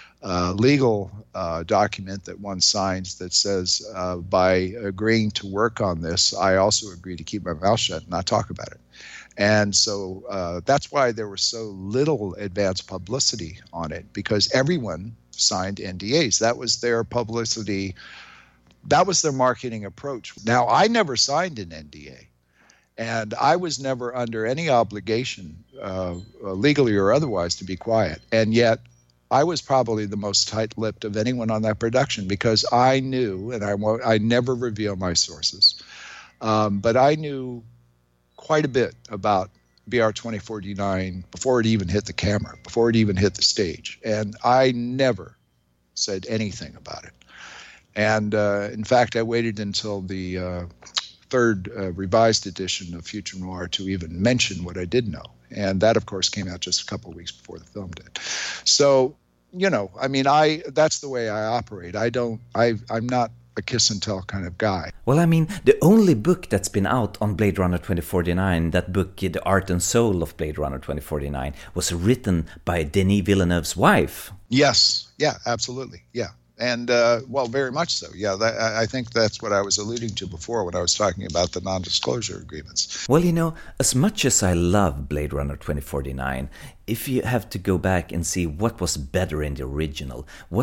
legal document that one signs that says, by agreeing to work on this, I also agree to keep my mouth shut and not talk about it. And so that's why there was so little advance publicity on it, because everyone signed NDAs. That was their publicity. That was their marketing approach. Now, I never signed an NDA. And I was never under any obligation, legally or otherwise, to be quiet. And yet, I was probably the most tight-lipped of anyone on that production, because I knew, and I never reveal my sources, but I knew quite a bit about BR 2049 before it even hit the camera, before it even hit the stage. And I never said anything about it. And in fact, I waited until the third revised edition of Future Noir to even mention what I did know. And that, of course, came out just a couple of weeks before the film did. So, that's the way I operate. I'm not a kiss and tell kind of guy. Well, the only book that's been out on Blade Runner 2049, that book, The Art and Soul of Blade Runner 2049, was written by Denis Villeneuve's wife. Yes. Yeah, absolutely. Yeah. And, very much so. Yeah, I think that's what I was alluding to before when I was talking about the non-disclosure agreements. Well, as much as I love Blade Runner 2049, if you have to go back and see what was better in the original,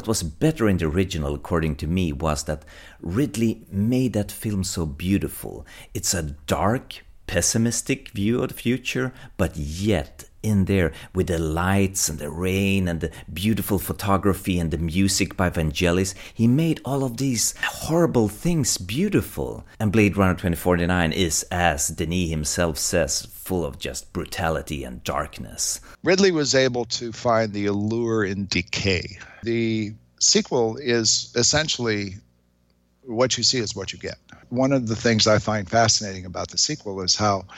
according to me, was that Ridley made that film so beautiful. It's a dark, pessimistic view of the future, but yet in there with the lights and the rain and the beautiful photography and the music by Vangelis, he made all of these horrible things beautiful. And Blade Runner 2049 is, as Denis himself says, full of just brutality and darkness. Ridley was able to find the allure in decay. The sequel is essentially what you see is what you get. One of the things I find fascinating about the sequel is how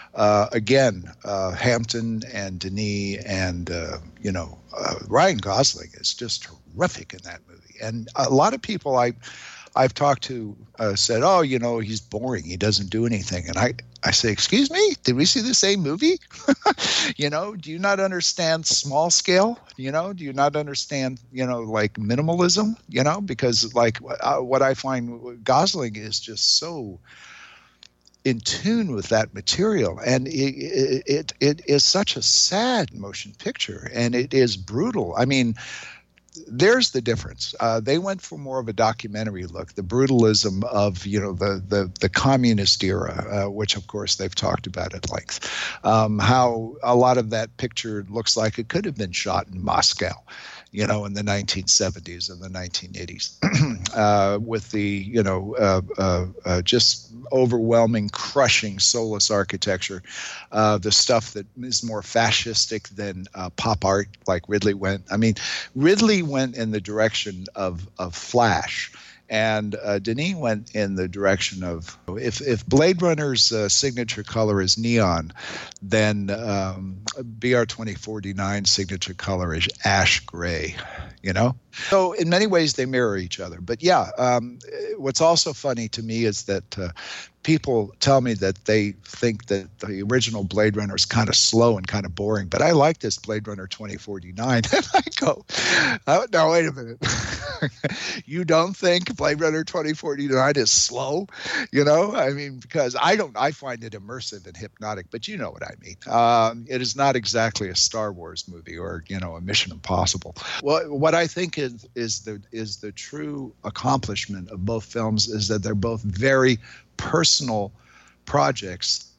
Hampton and Denis and, Ryan Gosling is just terrific in that movie. And a lot of people I've talked to said, he's boring. He doesn't do anything. And I say, excuse me, did we see the same movie? Do you not understand small scale? Do you not understand, minimalism? Because what I find Gosling is just so in tune with that material, and it is such a sad motion picture, and it is brutal. There's the difference. They went for more of a documentary look, the brutalism of the communist era, which of course they've talked about at length. How a lot of that picture looks like it could have been shot in Moscow, in the 1970s and the 1980s, with the just overwhelming, crushing, soulless architecture, the stuff that is more fascistic than pop art, like Ridley went. Ridley went in the direction of Flash, and Denis went in the direction of, if Blade Runner's signature color is neon, then BR 2049's signature color is ash gray, So in many ways they mirror each other. But what's also funny to me is that people tell me that they think that the original Blade Runner is kind of slow and kind of boring, but I like this Blade Runner 2049. And I go, oh, no, wait a minute. You don't think Blade Runner 2049 is slow? Because I find it immersive and hypnotic, but you know what I mean. It is not exactly a Star Wars movie or, a Mission Impossible. What I think is the true accomplishment of both films is that they're both very personal projects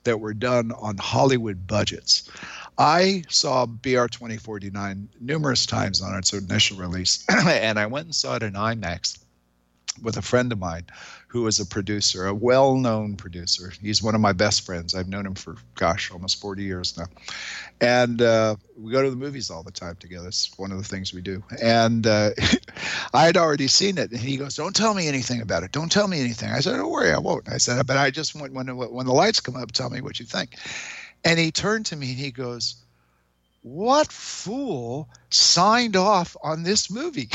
that were done on Hollywood budgets. I saw BR 2049 numerous times on its initial release, and I went and saw it in IMAX with a friend of mine who is a producer, a well-known producer. He's one of my best friends. I've known him for, almost 40 years now. And we go to the movies all the time together. It's one of the things we do. And I had already seen it. And he goes, don't tell me anything about it. Don't tell me anything. I said, don't worry, I won't. I said, but I just want, when the lights come up, tell me what you think. And he turned to me and he goes, what fool signed off on this movie?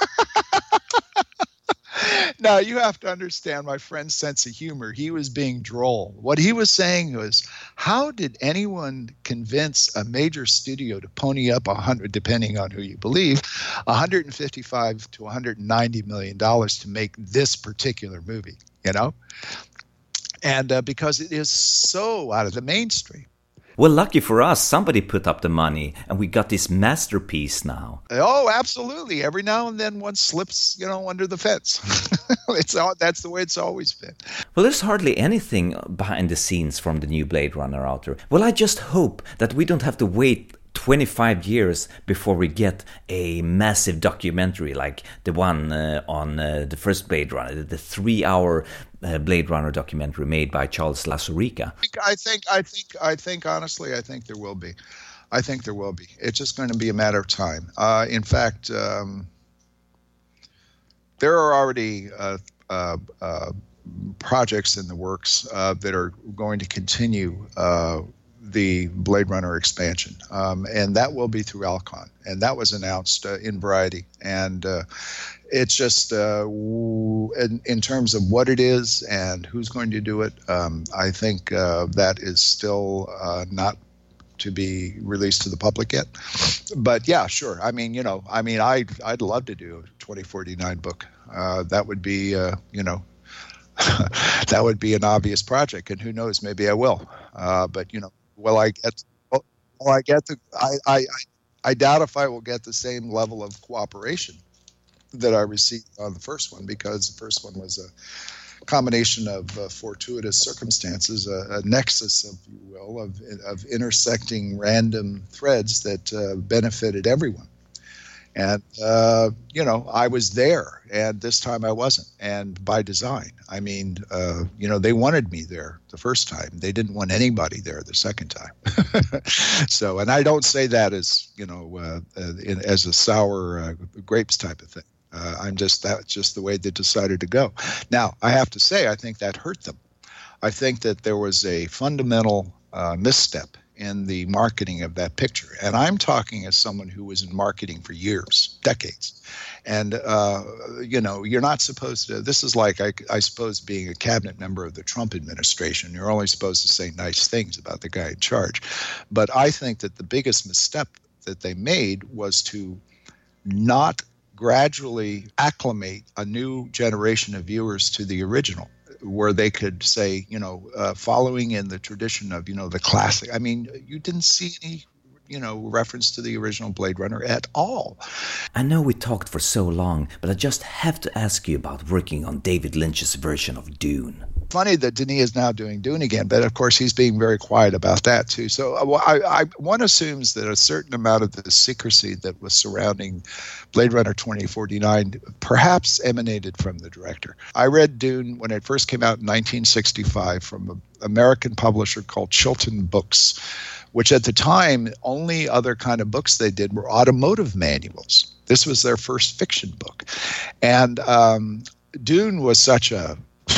Now, you have to understand my friend's sense of humor. He was being droll. What he was saying was, how did anyone convince a major studio to pony up depending on who you believe, $155 to $190 million to make this particular movie, And because it is so out of the mainstream. Well, lucky for us, somebody put up the money, and we got this masterpiece now. Oh, absolutely. Every now and then one slips, under the fence. That's the way it's always been. Well, there's hardly anything behind the scenes from the new Blade Runner out there. Well, I just hope that we don't have to wait 25 years before we get a massive documentary like the one on the first Blade Runner, the 3-hour Blade Runner documentary made by Charles Lazourica. I think honestly, I think there will be. I think there will be. It's just going to be a matter of time. In fact, there are already projects in the works that are going to continue the Blade Runner expansion, and that will be through Alcon, and that was announced in Variety. And it's just in terms of what it is and who's going to do it, I think that is still not to be released to the public yet. But yeah, sure. I'd love to do a 2049 book. That would be that would be an obvious project, and who knows, maybe I will. But I doubt if I will get the same level of cooperation that I received on the first one, because the first one was a combination of fortuitous circumstances, a nexus, if you will, of intersecting random threads that benefited everyone. And, I was there, and this time I wasn't, and by design. They wanted me there the first time. They didn't want anybody there the second time. So, and I don't say that as, as a sour grapes type of thing. That's just the way they decided to go. Now, I have to say, I think that hurt them. I think that there was a fundamental misstep in the marketing of that picture. And I'm talking as someone who was in marketing for years, decades. And, you're not supposed to, this is like, I suppose, being a cabinet member of the Trump administration. You're only supposed to say nice things about the guy in charge. But I think that the biggest misstep that they made was to not gradually acclimate a new generation of viewers to the original, where they could say, following in the tradition of, the classic. You didn't see any, reference to the original Blade Runner at all. I know we talked for so long, but I just have to ask you about working on David Lynch's version of Dune. Funny that Denis is now doing Dune again, but of course he's being very quiet about that too. So one assumes that a certain amount of the secrecy that was surrounding Blade Runner 2049 perhaps emanated from the director. I read Dune when it first came out in 1965 from an American publisher called Chilton Books, which at the time, only other kind of books they did were automotive manuals. This was their first fiction book. And Dune was such a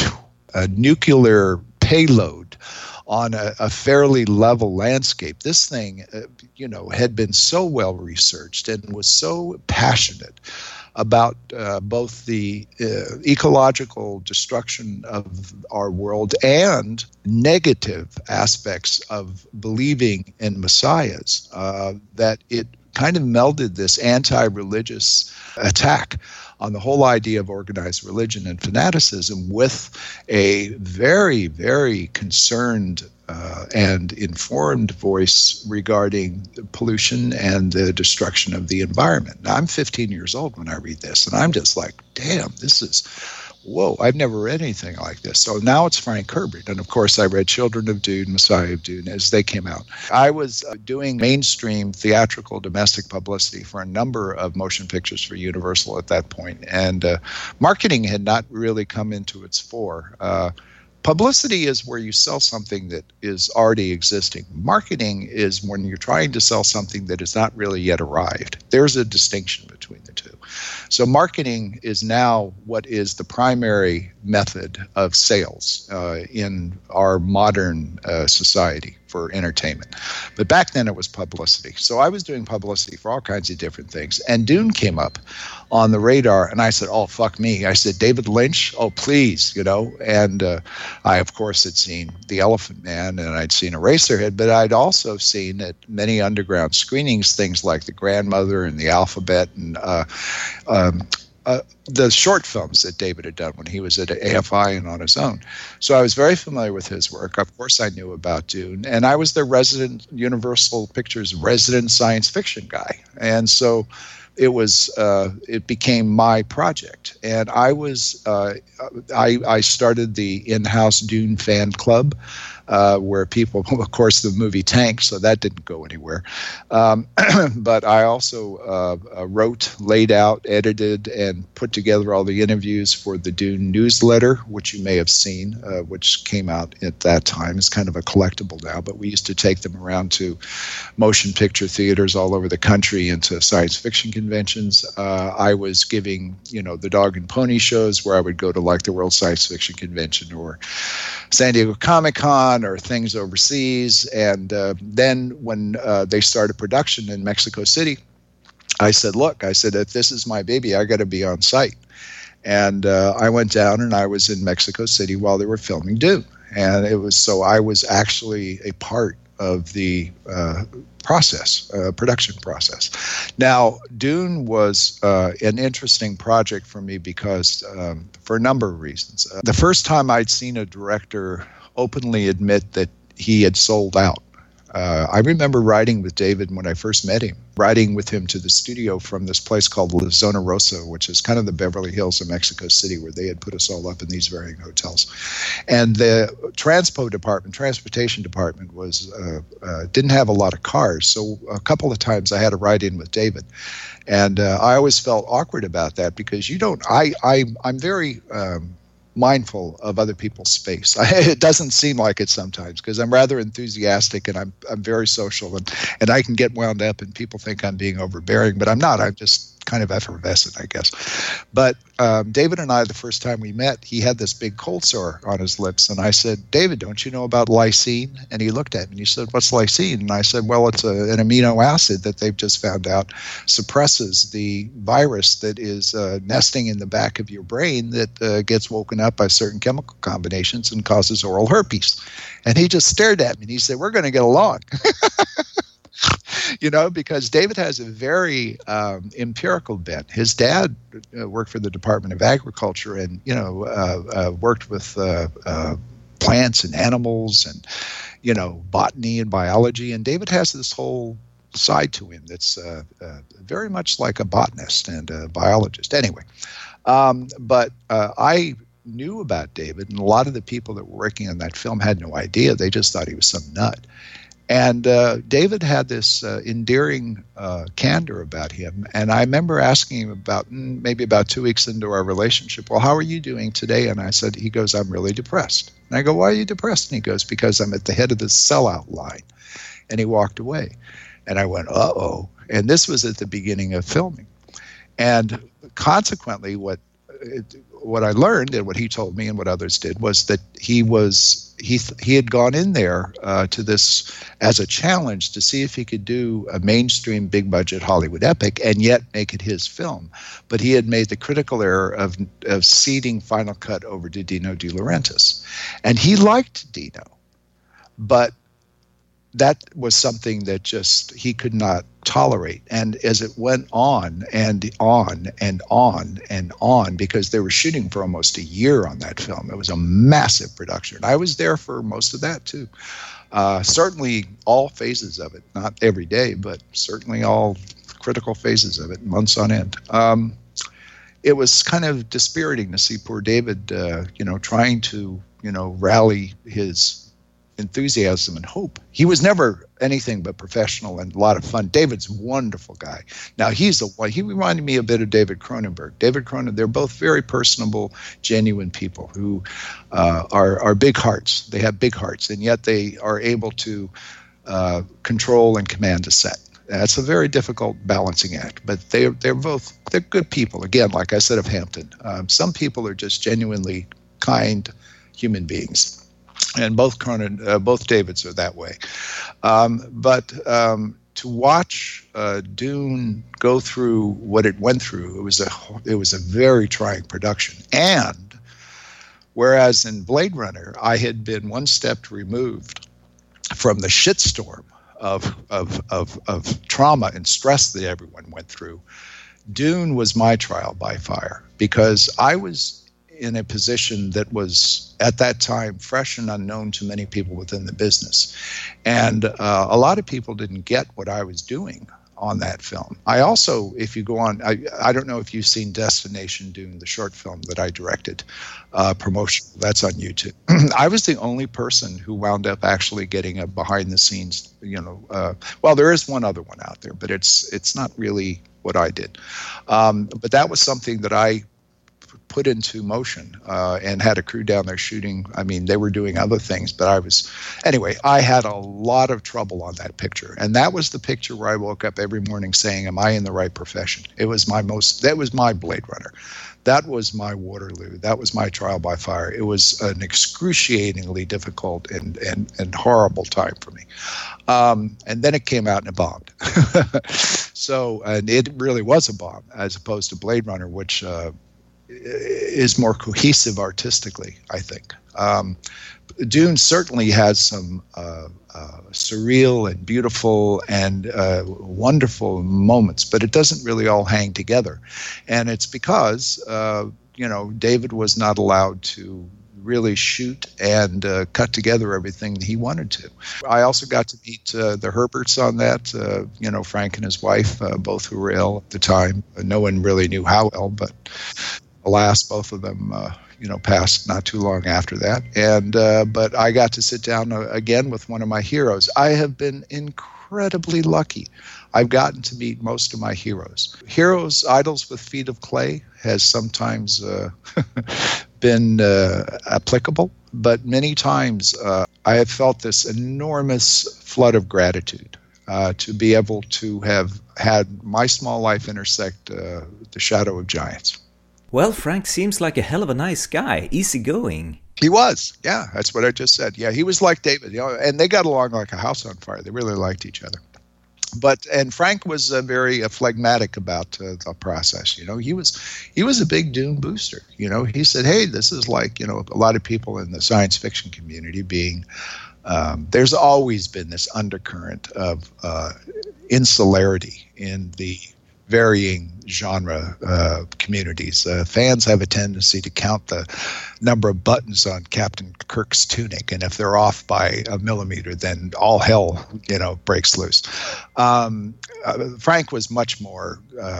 nuclear payload on a fairly level landscape. This thing, had been so well researched and was so passionate about both the ecological destruction of our world and negative aspects of believing in messiahs, that it kind of melded this anti-religious attack on the whole idea of organized religion and fanaticism with a very, very concerned and informed voice regarding pollution and the destruction of the environment. Now, I'm 15 years old when I read this, and I'm just like, damn, this is whoa, I've never read anything like this. So now it's Frank Herbert. And of course, I read Children of Dune, Messiah of Dune as they came out. I was doing mainstream theatrical domestic publicity for a number of motion pictures for Universal at that point. And marketing had not really come into its fore. Publicity is where you sell something that is already existing. Marketing is when you're trying to sell something that has not really yet arrived. There's a distinction between the two. So marketing is now what is the primary method of sales in our modern society for entertainment. But back then it was publicity. So I was doing publicity for all kinds of different things. And Dune came up on the radar, and I said, oh, fuck me. I said, David Lynch? Oh, please, And I, of course, had seen The Elephant Man, and I'd seen Eraserhead, but I'd also seen at many underground screenings things like The Grandmother and The Alphabet and the short films that David had done when he was at AFI and on his own. So I was very familiar with his work. Of course, I knew about Dune, and I was the resident Universal Pictures resident science fiction guy. And so it became my project. And I started the in-house Dune fan club, where people, of course, the movie tanked, so that didn't go anywhere. But I also wrote, laid out, edited, and put together all the interviews for the Dune newsletter, which you may have seen, which came out at that time. It's kind of a collectible now, but we used to take them around to motion picture theaters all over the country and to science fiction conventions. I was giving, the dog and pony shows where I would go to like the World Science Fiction Convention or San Diego Comic-Con or things overseas. And then when they started production in Mexico City, I said, if this is my baby, I got to be on site. And I went down and I was in Mexico City while they were filming Dune. And I was actually a part of the production process. Now, Dune was an interesting project for me because for a number of reasons. The first time I'd seen a director openly admit that he had sold out. I remember riding with David when I first met him, riding with him to the studio from this place called La Zona Rosa, which is kind of the Beverly Hills of Mexico City, where they had put us all up in these varying hotels. And the transportation department was didn't have a lot of cars, so a couple of times I had to ride in with David. And I always felt awkward about that because I'm very mindful of other people's space. It doesn't seem like it sometimes because I'm rather enthusiastic and I'm very social and I can get wound up and people think I'm being overbearing, but I'm not. I'm just kind of effervescent, I guess. But David and I, the first time we met, he had this big cold sore on his lips. And I said, David, don't you know about lysine? And he looked at me and he said, what's lysine? And I said, well, it's an amino acid that they've just found out suppresses the virus that is nesting in the back of your brain that gets woken up by certain chemical combinations and causes oral herpes. And he just stared at me and he said, we're going to get along. Because David has a very empirical bent. His dad worked for the Department of Agriculture and, worked with plants and animals and, botany and biology. And David has this whole side to him that's very much like a botanist and a biologist. Anyway, but I knew about David, and a lot of the people that were working on that film had no idea. They just thought he was some nut. And David had this endearing candor about him. And I remember asking him maybe about 2 weeks into our relationship, well, how are you doing today? And he goes, I'm really depressed. And I go, why are you depressed? And he goes, because I'm at the head of the sellout line. And he walked away. And I went, uh-oh. And this was at the beginning of filming. And consequently, what I learned and what he told me and what others did was that he had gone in there to this as a challenge to see if he could do a mainstream big budget Hollywood epic and yet make it his film. But he had made the critical error of ceding Final Cut over to Dino De Laurentiis. And he liked Dino, but that was something that just he could not tolerate. And as it went on and on and on and on, because they were shooting for almost a year on that film, it was a massive production. I was there for most of that too. Certainly all phases of it, not every day, but certainly all critical phases of it, months on end. it was kind of dispiriting to see poor David, trying to, rally his enthusiasm and hope. He was never anything but professional and a lot of fun. David's a wonderful guy. Now he reminded me a bit of David Cronenberg. They're both very personable, genuine people who are big hearts. They have big hearts, and yet they are able to control and command a set. That's a very difficult balancing act, but they're good people. Again, like I said of Hampton, some people are just genuinely kind human beings. And both Davids are that way. But to watch Dune go through what it went through, it was a very trying production. And whereas in Blade Runner, I had been one step removed from the shitstorm of trauma and stress that everyone went through, Dune was my trial by fire, because I was in a position that was at that time fresh and unknown to many people within the business. And a lot of people didn't get what I was doing on that film. I also, if you go on, I don't know if you've seen Destination Dune, the short film that I directed, promotional, that's on YouTube. I was the only person who wound up actually getting a behind the scenes, well, there is one other one out there, but it's not really what I did. But that was something that I put into motion and had a crew down there shooting. I mean, they were doing other things, but I had a lot of trouble on that picture. And that was the picture where I woke up every morning saying, am I in the right profession? That was my Blade Runner. That was my Waterloo. That was my trial by fire. It was an excruciatingly difficult and horrible time for me. And then it came out and it bombed. And it really was a bomb, as opposed to Blade Runner, which is more cohesive artistically, I think. Dune certainly has some surreal and beautiful and wonderful moments, but it doesn't really all hang together. And it's because, David was not allowed to really shoot and cut together everything that he wanted to. I also got to meet the Herberts on that, Frank and his wife, both who were ill at the time. No one really knew how ill, but alas, both of them, passed not too long after that. And but I got to sit down again with one of my heroes. I have been incredibly lucky. I've gotten to meet most of my heroes. Heroes, idols with feet of clay has sometimes been applicable, but many times I have felt this enormous flood of gratitude to be able to have had my small life intersect the shadow of giants. Well, Frank seems like a hell of a nice guy, easygoing. He was, yeah, that's what I just said. Yeah, he was like David, and they got along like a house on fire. They really liked each other. And Frank was very phlegmatic about the process. He was a big Dune booster. He said, hey, this is like, a lot of people in the science fiction community being, there's always been this undercurrent of insularity in the varying genre communities. Fans have a tendency to count the number of buttons on Captain Kirk's tunic, and if they're off by a millimeter, then all hell, breaks loose. Frank was much more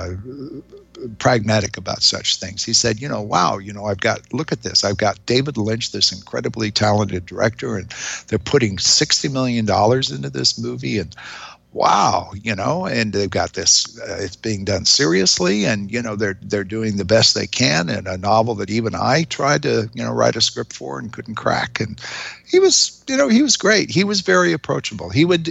pragmatic about such things. He said, wow, look at this. I've got David Lynch, this incredibly talented director, and they're putting $60 million into this movie, and wow, and they've got this, it's being done seriously, and, they're doing the best they can in a novel that even I tried to, write a script for and couldn't crack. And he was great. He was very approachable. He was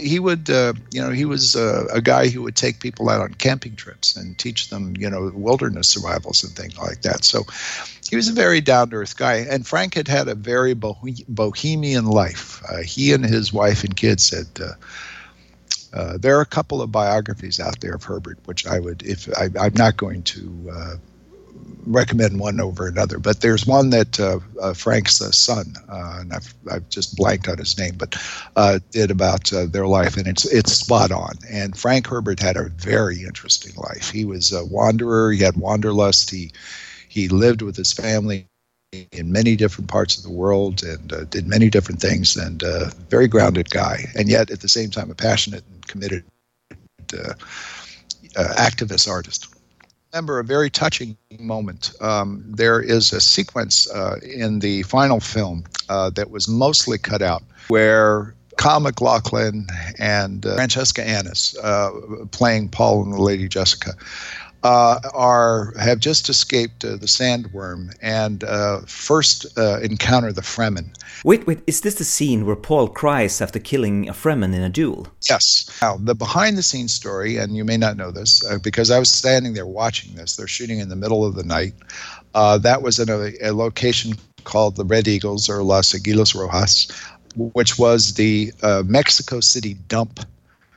a guy who would take people out on camping trips and teach them, wilderness survivals and things like that. So he was a very down-to-earth guy. And Frank had a very bohemian life. He and his wife and kids had, there are a couple of biographies out there of Herbert, which I'm not going to recommend one over another, but there's one that Frank's son, and I've just blanked on his name, but did about their life, and it's spot on. And Frank Herbert had a very interesting life. He was a wanderer. He had wanderlust. He lived with his family in many different parts of the world and did many different things, and very grounded guy, and yet at the same time a passionate and committed activist artist. remember a very touching moment. There is a sequence in the final film that was mostly cut out where Kyle MacLachlan and Francesca Annis, playing Paul and the Lady Jessica, have just escaped the sandworm and first encounter the Fremen. Wait, is this the scene where Paul cries after killing a Fremen in a duel? Yes. Now, the behind-the-scenes story, and you may not know this, because I was standing there watching this. They're shooting in the middle of the night. That was in a location called the Red Eagles, or Las Aguilas Rojas, which was the Mexico City dump,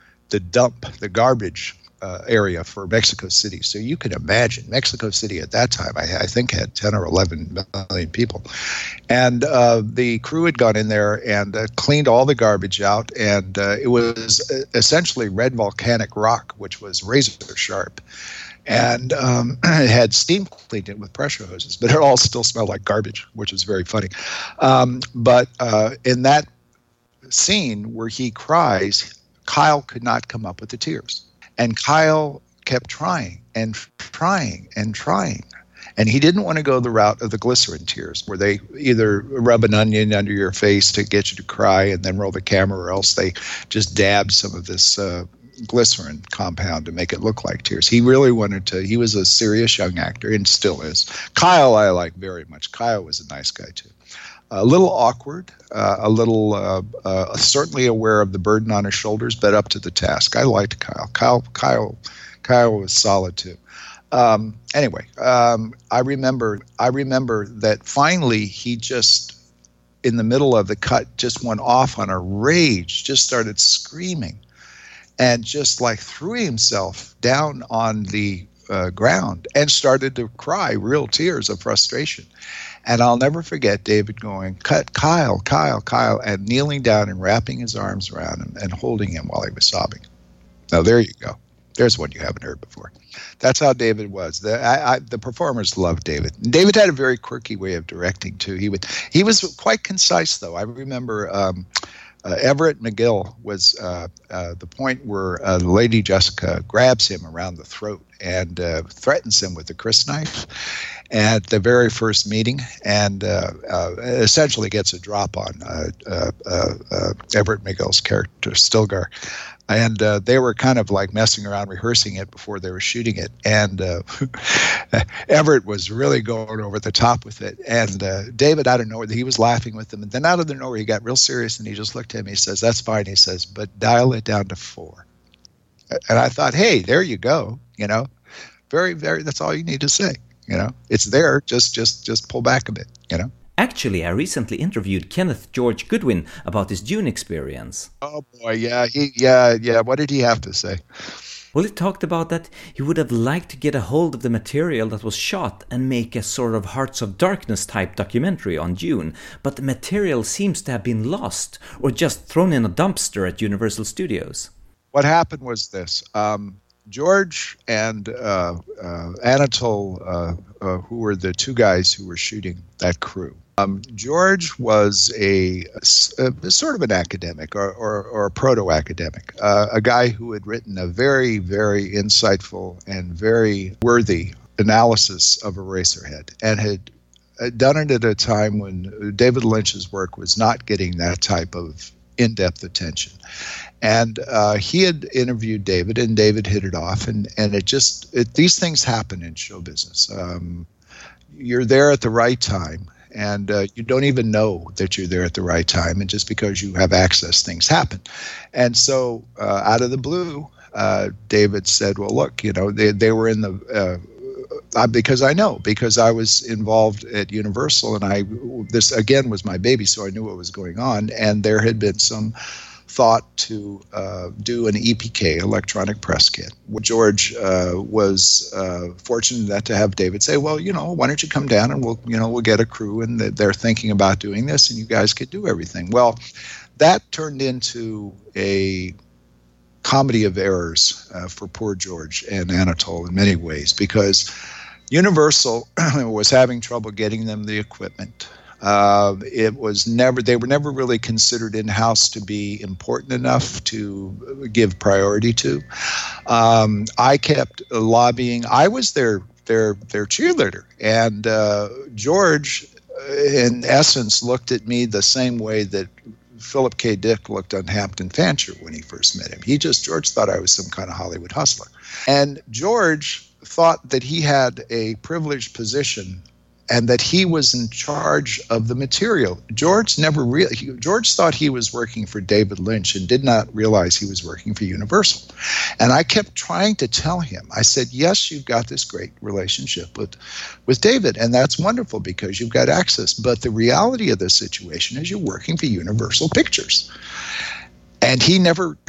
the garbage area for Mexico City. So you can imagine Mexico City at that time, I think, had 10 or 11 million people. And the crew had gone in there and cleaned all the garbage out. And it was essentially red volcanic rock, which was razor sharp. And it had steam cleaned it with pressure hoses, but it all still smelled like garbage, which was very funny. But in that scene where he cries, Kyle could not come up with the tears. And Kyle kept trying and trying and trying. And he didn't want to go the route of the glycerin tears, where they either rub an onion under your face to get you to cry and then roll the camera, or else they just dab some of this glycerin compound to make it look like tears. He really wanted to. He was a serious young actor and still is. Kyle I like very much. Kyle was a nice guy too. A little awkward, a little certainly aware of the burden on his shoulders, but up to the task. I liked Kyle. Kyle was solid too. Anyway, I remember that finally he just, in the middle of the cut, just went off on a rage, just started screaming, and just like threw himself down on the ground and started to cry real tears of frustration. And I'll never forget David going, "Cut, Kyle," and kneeling down and wrapping his arms around him and holding him while he was sobbing. Now, there you go. There's one you haven't heard before. That's how David was. The performers loved David. And David had a very quirky way of directing, too. He was quite concise, though. I remember Everett McGill was the point where Lady Jessica grabs him around the throat and threatens him with a crysknife at the very first meeting, and essentially gets a drop on Everett McGill's character, Stilgar. And they were kind of like messing around, rehearsing it before they were shooting it. And Everett was really going over the top with it. And David, out of nowhere, he was laughing with them. And then out of the nowhere, he got real serious, and he just looked at me. He says, "That's fine." He says, "But dial it down to 4. And I thought, hey, there you go. You know, very, very, that's all you need to say. You know, it's there. Just pull back a bit, you know. Actually, I recently interviewed Kenneth George Goodwin about his Dune experience. Oh boy, yeah. What did he have to say? Well, he talked about that he would have liked to get a hold of the material that was shot and make a sort of Hearts of Darkness type documentary on Dune, but the material seems to have been lost or just thrown in a dumpster at Universal Studios. What happened was this. George and Anatole, who were the two guys who were shooting that crew. George was a sort of an academic or a proto-academic, a guy who had written a very, very insightful and very worthy analysis of Eraserhead, and had done it at a time when David Lynch's work was not getting that type of in-depth attention. And he had interviewed David, and David hit it off, and these things happen in show business. You're there at the right time, and you don't even know that you're there at the right time, and just because you have access, things happen. And so out of the blue, David said, well, look, you know, they were in the because I was involved at Universal, and this again was my baby, so I knew what was going on, and there had been some thought to do an EPK, electronic press kit. George was fortunate enough to have David say, well, you know, why don't you come down and we'll get a crew, and they're thinking about doing this, and you guys could do everything. Well, that turned into a comedy of errors for poor George and Anatole in many ways, because Universal was having trouble getting them the equipment. It was never, they were never really considered in-house to be important enough to give priority to. I kept lobbying. I was their cheerleader, and George, in essence, looked at me the same way that Philip K. Dick looked on Hampton Fancher when he first met him. George thought I was some kind of Hollywood hustler. And George thought that he had a privileged position and that he was in charge of the material. George thought he was working for David Lynch and did not realize he was working for Universal. And I kept trying to tell him, I said, yes, you've got this great relationship with David, and that's wonderful because you've got access. But the reality of the situation is you're working for Universal Pictures. And he never,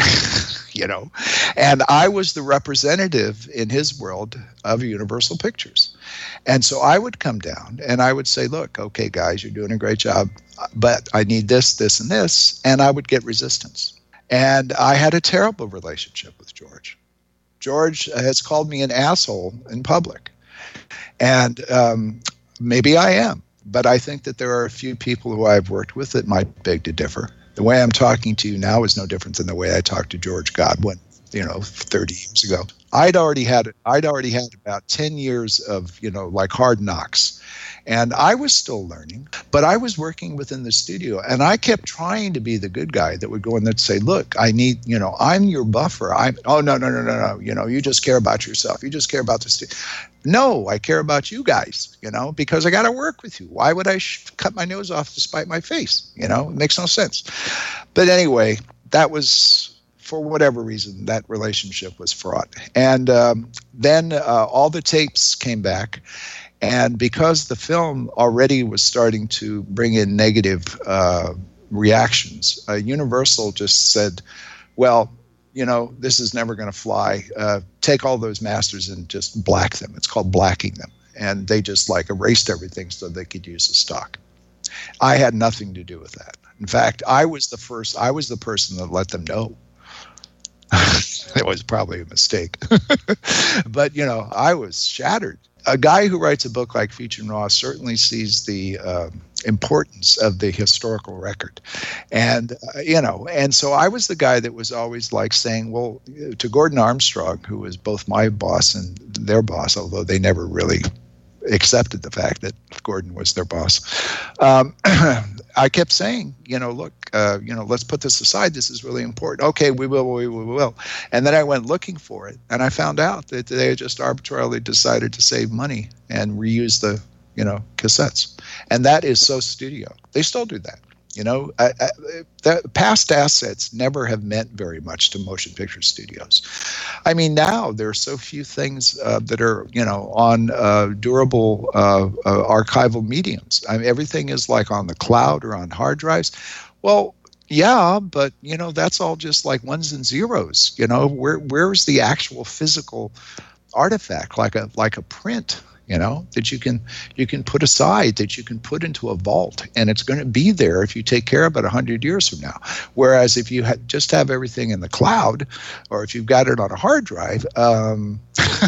and I was the representative in his world of Universal Pictures. And so I would come down and I would say, look, okay, guys, you're doing a great job, but I need this, this, and this. And I would get resistance. And I had a terrible relationship with George. George has called me an asshole in public. And maybe I am, but I think that there are a few people who I've worked with that might beg to differ. The way I'm talking to you now is no different than the way I talked to George Godwin, 30 years ago. I'd already had about 10 years of, like hard knocks. And I was still learning, but I was working within the studio. And I kept trying to be the good guy that would go in there and say, look, I need, I'm your buffer. No. You just care about yourself. You just care about the studio. No, I care about you guys, because I got to work with you. Why would I cut my nose off to spite my face? It makes no sense. But anyway, that was, for whatever reason, that relationship was fraught. And then all the tapes came back. And because the film already was starting to bring in negative reactions, Universal just said, well, this is never going to fly. Take all those masters and just black them. It's called blacking them. And they just erased everything so they could use the stock. I had nothing to do with that. In fact, I was the person that let them know. It was probably a mistake. But, I was shattered. A guy who writes a book like Feature and Raw certainly sees the importance of the historical record. And, and so I was the guy that was always saying, well, to Gordon Armstrong, who was both my boss and their boss, although they never really accepted the fact that Gordon was their boss. I kept saying, look, let's put this aside. This is really important. Okay, we will. And then I went looking for it, and I found out that they had just arbitrarily decided to save money and reuse the, cassettes. And that is so studio. They still do that. The past assets never have meant very much to motion picture studios. I mean, now there are so few things that are, on durable archival mediums. I mean, everything is on the cloud or on hard drives. Well, yeah, but, that's all just ones and zeros. Where's the actual physical artifact, like a print? That you can put aside, that you can put into a vault, and it's going to be there if you take care of it 100 years from now. Whereas if you just have everything in the cloud, or if you've got it on a hard drive, and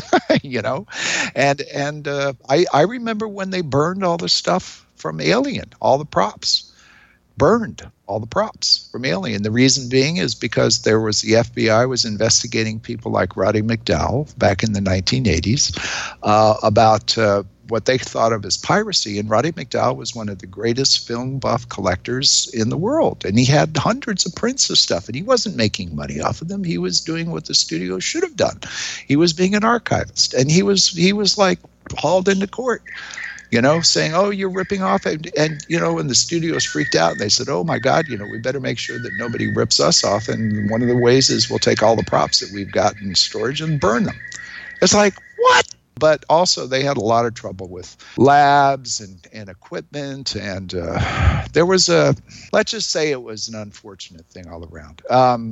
I remember when they burned all the stuff from Alien, all the props. Burned all the props from Alien. The reason being is because the FBI was investigating people like Roddy McDowall back in the 1980s about what they thought of as piracy. And Roddy McDowall was one of the greatest film buff collectors in the world. And he had hundreds of prints of stuff, and he wasn't making money off of them. He was doing what the studio should have done. He was being an archivist, and he was hauled into court. Saying, oh, you're ripping off. And the studios freaked out. And they said, oh, my God, we better make sure that nobody rips us off. And one of the ways is we'll take all the props that we've got in storage and burn them. It's what? But also they had a lot of trouble with labs and equipment. And there was let's just say it was an unfortunate thing all around.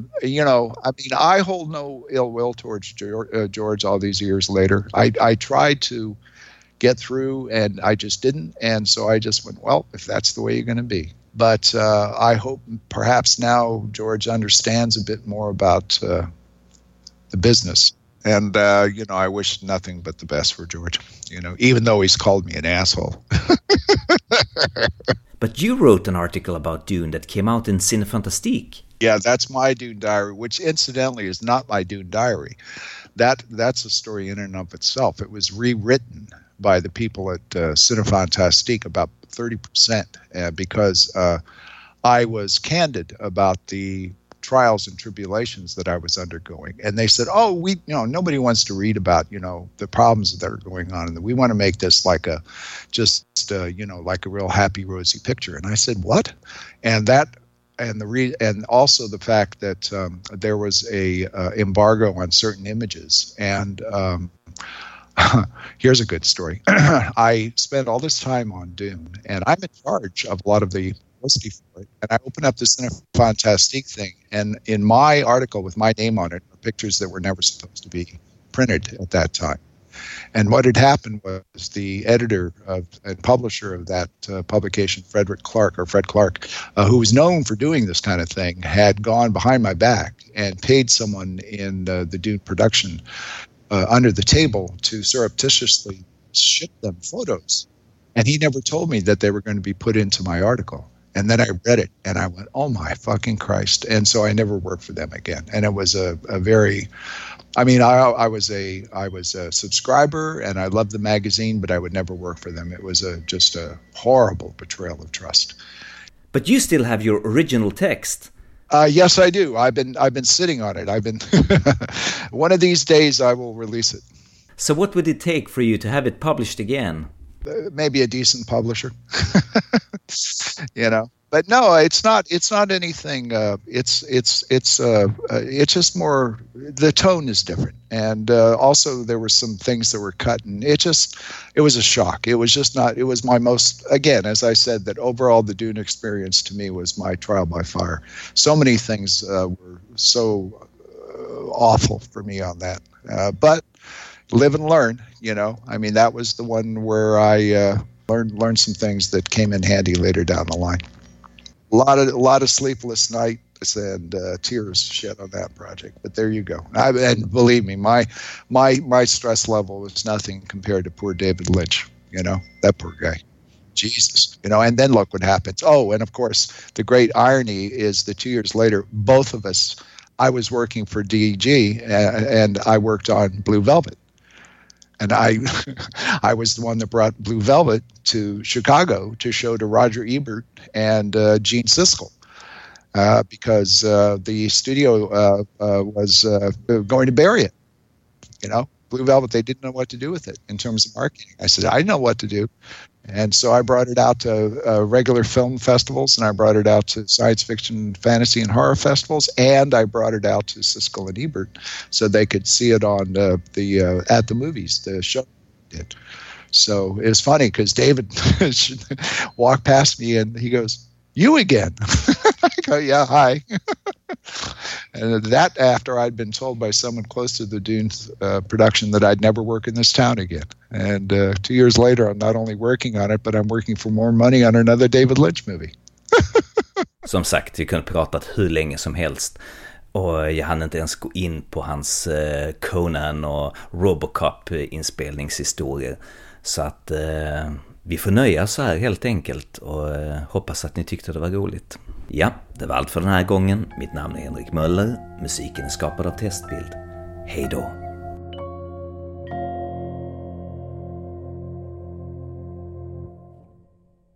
I hold no ill will towards George all these years later. I tried to get through, and I just didn't. And so I just went, well, if that's the way you're going to be. But I hope perhaps now George understands a bit more about the business. And, I wish nothing but the best for George, even though he's called me an asshole. But you wrote an article about Dune that came out in Cinefantastique. Yeah, that's my Dune diary, which incidentally is not my Dune diary. That's a story in and of itself. It was rewritten by the people at Cinefantastique, about 30%, because I was candid about the trials and tribulations that I was undergoing. And they said, nobody wants to read about, the problems that are going on. And we want to make this like a real happy, rosy picture. And I said, what? And also the fact that there was a embargo on certain images. And here's a good story. I spent all this time on Dune, and I'm in charge of a lot of the publicity for it. And I opened up this Cinefantastique thing, and in my article with my name on it are pictures that were never supposed to be printed at that time. And what had happened was the editor and publisher of that publication, Fred Clark, who was known for doing this kind of thing, had gone behind my back and paid someone in the Dune production under the table to surreptitiously ship them photos. And he never told me that they were going to be put into my article. And then I read it and I went, oh my fucking Christ. And so I never worked for them again. And it was I was a subscriber and I loved the magazine, but I would never work for them. It was just a horrible betrayal of trust. But you still have your original text. Yes, I do. I've been sitting on it. One of these days I will release it. So what would it take for you to have it published again? Maybe a decent publisher. But no, it's not anything. It's just more, the tone is different. And also there were some things that were cut, and it was a shock. It was my most, again, as I said, that overall the Dune experience to me was my trial by fire. So many things were so awful for me on that. But live and learn, that was the one where I learned some things that came in handy later down the line. A lot of sleepless nights and tears shed on that project. But there you go. And believe me, my stress level was nothing compared to poor David Lynch. That poor guy. Jesus. And then look what happens. Oh, and of course, the great irony is that 2 years later, both of us, I was working for DEG and I worked on Blue Velvet. And I was the one that brought Blue Velvet to Chicago to show to Roger Ebert and Gene Siskel because the studio was going to bury it. Blue Velvet, they didn't know what to do with it in terms of marketing. I said, I know what to do. And so I brought it out to regular film festivals, and I brought it out to science fiction, fantasy, and horror festivals, and I brought it out to Siskel and Ebert so they could see it on at the movies, the show did. So it was funny because David walked past me and he goes, "You again?" I go, "Yeah, hi." And that after I'd been told by someone close to the Dune production that I'd never work in this town again. And 2 years later, I'm not only working on it, but I'm working for more money on another David Lynch movie. Som sagt, vi kunde pratat hur länge som helst. Och jag hann inte ens gå in på hans Conan och Robocop-inspelningshistorier. Så att vi får nöja så här helt enkelt och hoppas att ni tyckte det var roligt. Ja, det var allt för den här gången. Mitt namn är Henrik Möller. Musiken är skapad av Testbild. Hej då!